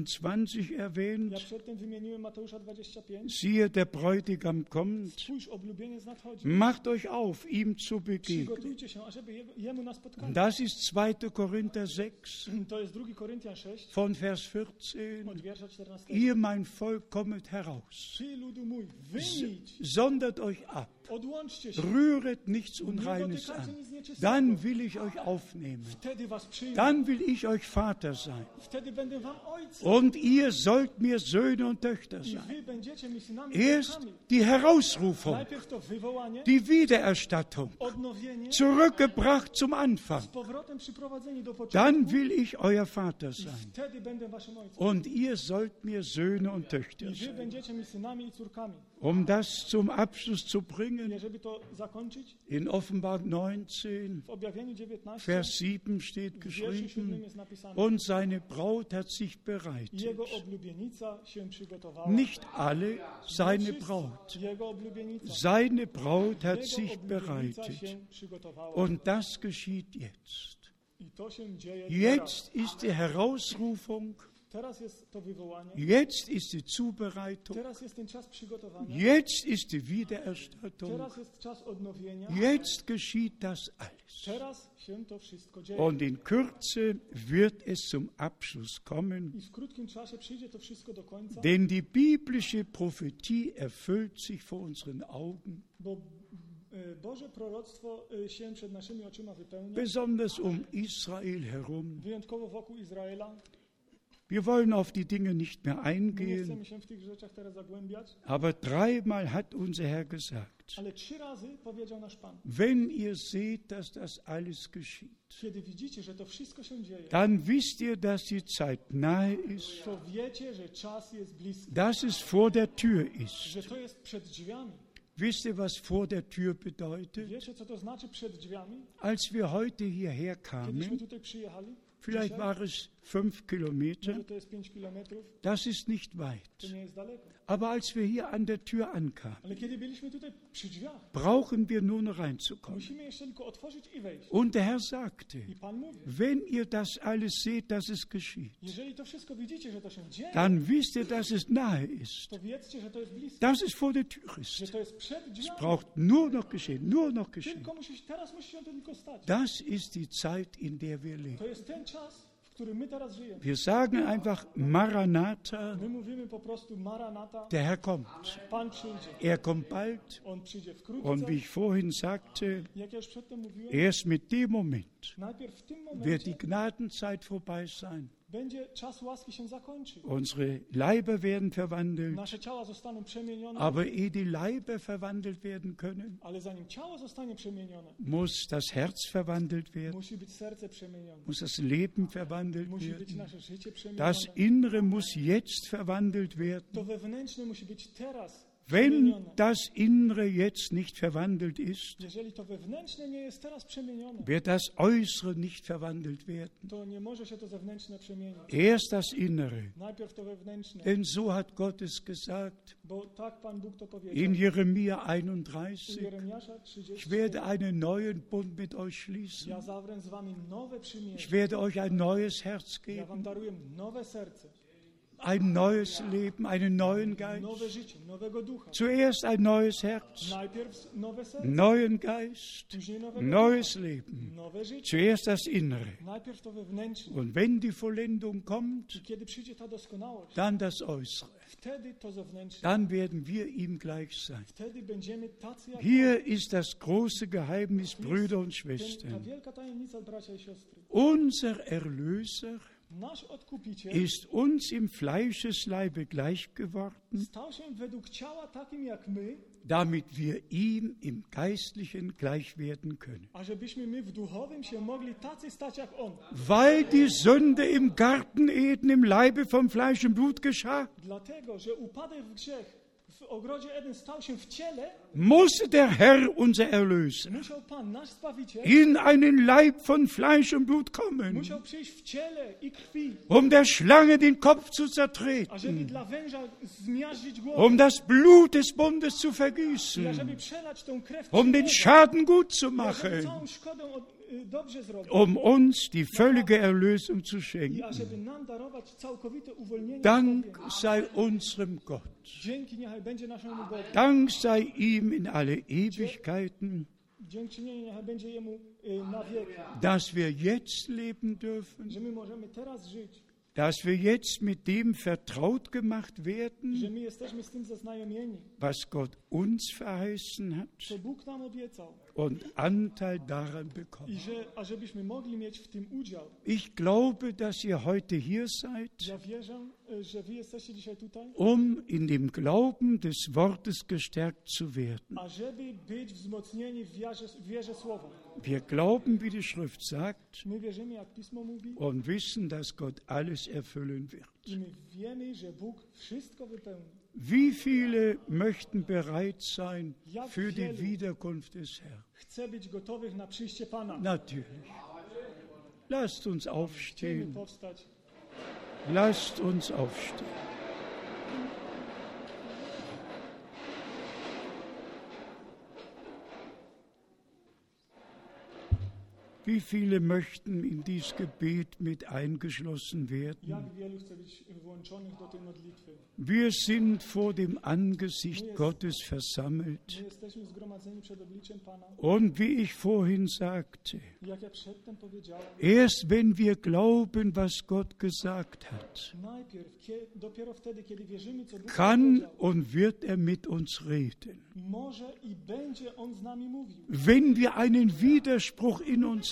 25 Ja erwähnt. przedtem wymieniłem Mateusza 25. Siehe, der Bräutigam kommt. Spójrz, oblubieniec nadchodzi. Macht euch auf, ihm zu begegnen. Przygotujcie się, ażeby jemu nas spotkać. Das ist 2. Korinther 6 To jest 2 Koryntian 6, von Vers 14. od wiersza 14. Ihr, mein Volk, kommet heraus. Ty, ludu mój, wyjdź, Sondert euch ab. odłączcie się. Rühret nichts Nie Unreines dotykajcie an. nic nieczystego. Dann will ich euch aufnehmen. Wtedy was przyjmę. Dann will ich euch Vater sein. Wtedy będę wam ojcem. Und ihr sollt mir Söhne und Töchter I sein. wy będziecie mi synami i Erst córkami. die Herausrufung, Najpierw to wywołanie, die Wiedererstattung, odnowienie, zurückgebracht zum Anfang. z powrotem przyprowadzeni do początku. Dann will ich euer Vater I sein. wtedy będę waszym ojcem. Und ihr sollt mir Söhne und I Töchter wy sein. będziecie mi synami i córkami. Um das zum Abschluss zu I bringen, żeby to zakończyć, in Offenbarung 19, w objawieniu 19, Vers 7 steht w wierszu 7 geschrieben, jest napisane: und seine Braut hat sich I bereitet. jego oblubienica się przygotowała. Nicht alle, seine Wszyscy, Braut. Jego oblubienica. Seine Braut hat Jego sich oblubienica bereitet. się przygotowała. Und das geschieht jetzt. I to się dzieje Jetzt ist die Herausrufung, Teraz jest to wywołanie. jetzt ist die Zubereitung, Teraz jest ten czas przygotowania. jetzt ist die Wiedererstattung, Teraz jest czas odnowienia. jetzt geschieht das alles. Teraz się to wszystko dzieje. Und in Kürze wird es zum Abschluss kommen, I w krótkim czasie przyjdzie to wszystko do końca, denn die biblische Prophetie erfüllt sich vor unseren Augen, bo Boże proroctwo się przed naszymi oczyma wypełnia, besonders Israel herum. wyjątkowo wokół Izraela. Wir wollen auf die Dinge nicht mehr My nie eingehen, chcemy się w tych rzeczach teraz zagłębiać, aber dreimal hat unser Herr gesagt, ale 3 razy powiedział nasz Pan: wenn ihr seht, dass das alles geschieht, kiedy widzicie, że to wszystko się dzieje, dann wisst ihr, dass die Zeit nahe ist, to wiecie, że czas jest bliski, dass es vor der Tür ist. że to jest przed drzwiami. Wisst ihr, was vor der Tür bedeutet? Wiecie, co to znaczy przed drzwiami? Als wir heute hierher Kiedyśmy kamen, tutaj przyjechali, vielleicht dzisiaj, war es 5 Kilometer, może to jest 5 kilometrów, das ist nicht weit. to nie jest daleko. Aber als wir hier an der Tür ankamen, Ale kiedy byliśmy tutaj przy drzwiach, brauchen wir nur noch reinzukommen. musimy jeszcze tylko otworzyć i wejść. Und der Herr sagte, I Pan mówi, wenn ihr das alles seht, dass es geschieht, jeżeli to wszystko widzicie, że to się dzieje, dann wisst ihr, dass es nahe ist, to wiedzcie, że to jest blisko, dass es vor der Tür że ist. to jest przed Es drzwiami. braucht nur noch geschehen, nur noch geschehen. Tylko teraz musi się to tylko stać. Das ist die Zeit, in der wir leben. To jest ten czas, w którym my teraz żyjemy. Wir sagen einfach Maranatha, My mówimy po prostu Maranata, der Herr kommt. Pan przyjdzie. Er kommt bald. On przyjdzie wkrótce. Und wie ich vorhin sagte, Jak ja już przedtem mówiłem, erst mit dem Moment najpierw w tym wird momencie die Gnadenzeit vorbei sein. będzie czas łaski się zakończy. Unsere Leiber werden verwandelt. Nasze ciała zostaną przemienione, Aber ehe die Leiber verwandelt werden können, ale zanim ciało zostanie przemienione, muss das Herz verwandelt werden, musi być serce przemienione. muss das Leben verwandelt Musi być werden. nasze życie Das przemienione. Innere muss jetzt verwandelt To werden. wewnętrzne musi być teraz Wenn przemienione. das Innere jetzt nicht verwandelt ist, Jeżeli to wewnętrzne nie jest teraz przemienione, wird das Äußere nicht verwandelt werden. to nie może się to zewnętrzne przemienić. Erst das Innere. Najpierw to wewnętrzne, Denn so hat Gott es gesagt bo tak Pan Bóg to in powiedział. Jeremia U 31. Jeremiasza Ich 30. werde einen neuen Bund mit euch schließen. Ja zawrę z wami nowe Ich przymierze. werde euch ein neues Herz Ja wam geben, daruję nowe serce, ein neues Leben, einen neuen Geist. nowe życie, nowego ducha. Zuerst ein neues Herz, Najpierw nowe serce, neuen Geist, później nowego neues ducha, Leben. nowe życie. Zuerst das Innere. Najpierw to wewnętrzne. Und wenn die Vollendung kommt, I kiedy przyjdzie ta doskonałość, dann das Äußere. wtedy to zewnętrzne. Dann werden wir ihm gleich sein. Wtedy będziemy tacy jak Hier ist das große Geheimnis, Brüder und Ta Schwestern. wielka tajemnica, bracia i siostry. Unser Erlöser Nasz Odkupiciel ist uns im Fleischesleibe gleich geworden, stał się według ciała takim jak my, damit wir ihm im Geistlichen gleich werden können. ażebyśmy my w duchowym się mogli tacy stać jak On. Weil die Sünde im Garten Eden im Leibe von Fleisch und Blut geschah, Dlatego, że upadek w grzech w ogrodzie Eden stał się w ciele, musste der Herr, unser Erlöser, musiał Pan, nasz Zbawiciel, in einen Leib von Fleisch und Blut kommen, musiał przyjść w ciele i krwi, um der Schlange den Kopf zu ażeby zertreten, dla węża zmiażdżyć głowę, um das Blut des Bundes zu i vergießen, ażeby przelać tą krew um den przymierza, Schaden gut zu i ażeby machen, całą szkodę dobrze zrobić, um uns die völlige Erlösung zu i schenken. ażeby nam darować całkowite uwolnienie Dank zbawienia. sei unserem Gott. Dzięki niechaj będzie naszemu Bogu. Dank sei ihm in alle Ewigkeiten, Dziękczynienie niechaj będzie Jemu na wieki, dass wir jetzt leben dürfen, że my możemy teraz żyć, dass wir jetzt mit dem vertraut gemacht że werden, my jesteśmy z tym zaznajomieni, was Gott uns verheißen hat co Bóg nam obiecał und Anteil daran i bekommen. ażebyśmy mogli mieć w tym udział. Ich glaube, dass ihr heute hier seid, Ja wierzę, że wy jesteście dzisiaj tutaj, um in dem Glauben des Wortes gestärkt zu werden. ażeby być wzmocnieni w wierze Słowa. Wir glauben, wie die Schrift sagt, My wierzymy, jak Pismo mówi, und wissen, dass Gott alles erfüllen wird. i my wiemy, że Bóg wszystko wypełni. Wie viele möchten bereit sein für die Wiederkunft des Herrn? Chcę być gotowych na przyjście Pana. Natürlich. Lasst uns Chcemy aufstehen. powstać. Lasst uns aufstehen. Wie viele möchten in dieses Gebet mit eingeschlossen werden? Jak wielu chce być włączonych do tej modlitwy? Wir sind vor dem Angesicht Gottes versammelt. My jesteśmy zgromadzeni przed obliczem Pana. Und wie ich vorhin sagte, Jak ja przedtem powiedziałem, erst wenn wir glauben, was Gott gesagt hat, najpierw, dopiero wtedy, kiedy wierzymy, co Bóg kann powiedział, und wird er mit uns reden. może i będzie On z nami mówił. Wenn wir einen Widerspruch in uns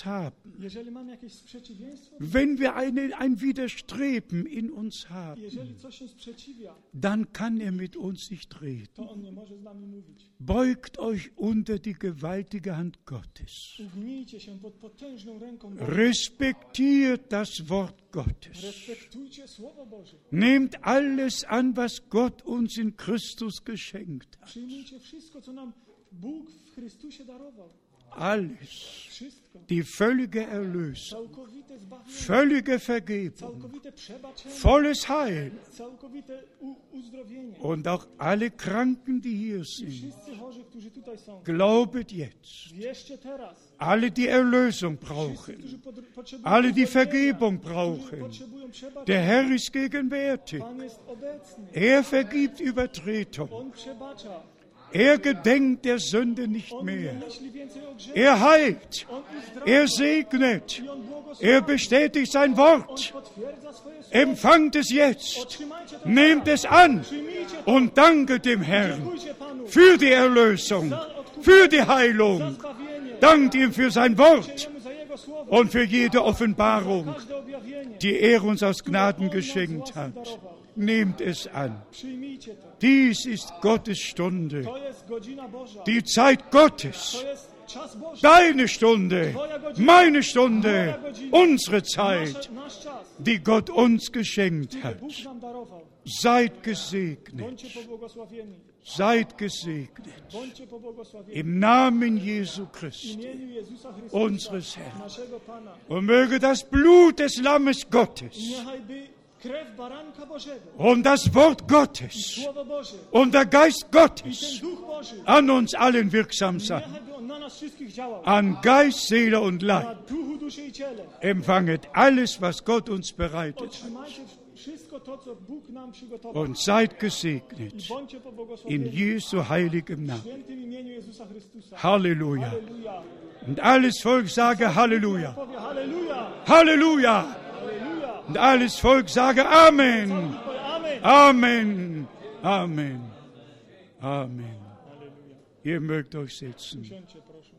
uns haben, Jeżeli mamy jakieś sprzeciwieństwo, wenn wir ein Widerstreben in uns haben, jeżeli coś się sprzeciwia, dann kann er mit uns nicht reden. to On nie może z nami mówić. Beugt euch unter die gewaltige Hand Gottes. Ugnijcie się pod potężną ręką Boga. Respektiert das Wort Gottes. Respektujcie Słowo Boże. Nehmt alles an, was Gott uns in Christus geschenkt hat. Przyjmijcie wszystko, co nam Bóg w Chrystusie darował. Alles. Wszystko. Die völlige Erlösung, Całkowite zbawienie, völlige Vergebung, całkowite przebaczenie, volles Heil całkowite uzdrowienie. und auch alle Kranken, die hier I sind. wszyscy chorzy, którzy tutaj są, Glaubet jetzt. wierzcie teraz. Alle, die Erlösung Wszyscy, brauchen, którzy potrzebują alle, die uzdrowienia, Vergebung którzy brauchen. potrzebują przebaczenia. Der Herr ist gegenwärtig. Pan jest obecny. Er vergibt Übertretung. On przebacza. Er gedenkt der Sünde nicht On nie mehr. myśli więcej o grzechu. Er heilt. On uzdrawia. Er segnet. I on błogosławi. Er bestätigt sein On Wort. potwierdza swoje słowo. Empfangt es jetzt. Otrzymajcie to Nehmt teraz. es an Przyjmijcie to. und danket dem Herrn Dziękujcie Panu für die Erlösung, für die za Heilung. zbawienie. Dankt ihm für sein Wort Dziękujcie Jemu za Jego słowo. und für jede Offenbarung, Każde objawienie. die er uns aus Gnaden geschenkt hat. Nehmt es an. Przyjmijcie to. Dies ist Gottes Stunde, To jest godzina Boża. die Zeit Gottes, To jest czas Boży. deine Stunde, meine Stunde, unsere Zeit, Nasz czas. die Gott uns geschenkt hat. Bóg nam darował. Seid gesegnet, Bądźcie pobłogosławieni. seid gesegnet. Bądźcie pobłogosławieni. Im Namen Jesu W Christi, imieniu Jezusa Chrystusa, unseres Herrn. naszego Pana. Und möge das Blut des Lammes Gottes Niechaj by krew baranka Bożego, und das Wort Gottes Słowo Boże und der Geist i Gottes ten Duch Boży, an uns allen wirksam sein. niechaj by on na nas wszystkich działał. An Geist, Seele und Na Leib. duchu, duszy i ciele. Empfanget alles, was Gott uns bereitet hat. Otrzymajcie wszystko to, co Bóg nam przygotował. Und seid I gesegnet bądźcie in pobłogosławieni Jesu heiligem w Namen. świętym imieniu Jezusa Chrystusa. Halleluja. Halleluja. Und alles Volk sage Halleluja. Powie halleluja. Halleluja. Halleluja. Und alles Volk sage Amen. Powie amen. Amen. Amen. Amen. Halleluja. Ihr mögt euch setzen. Usiądźcie, proszę.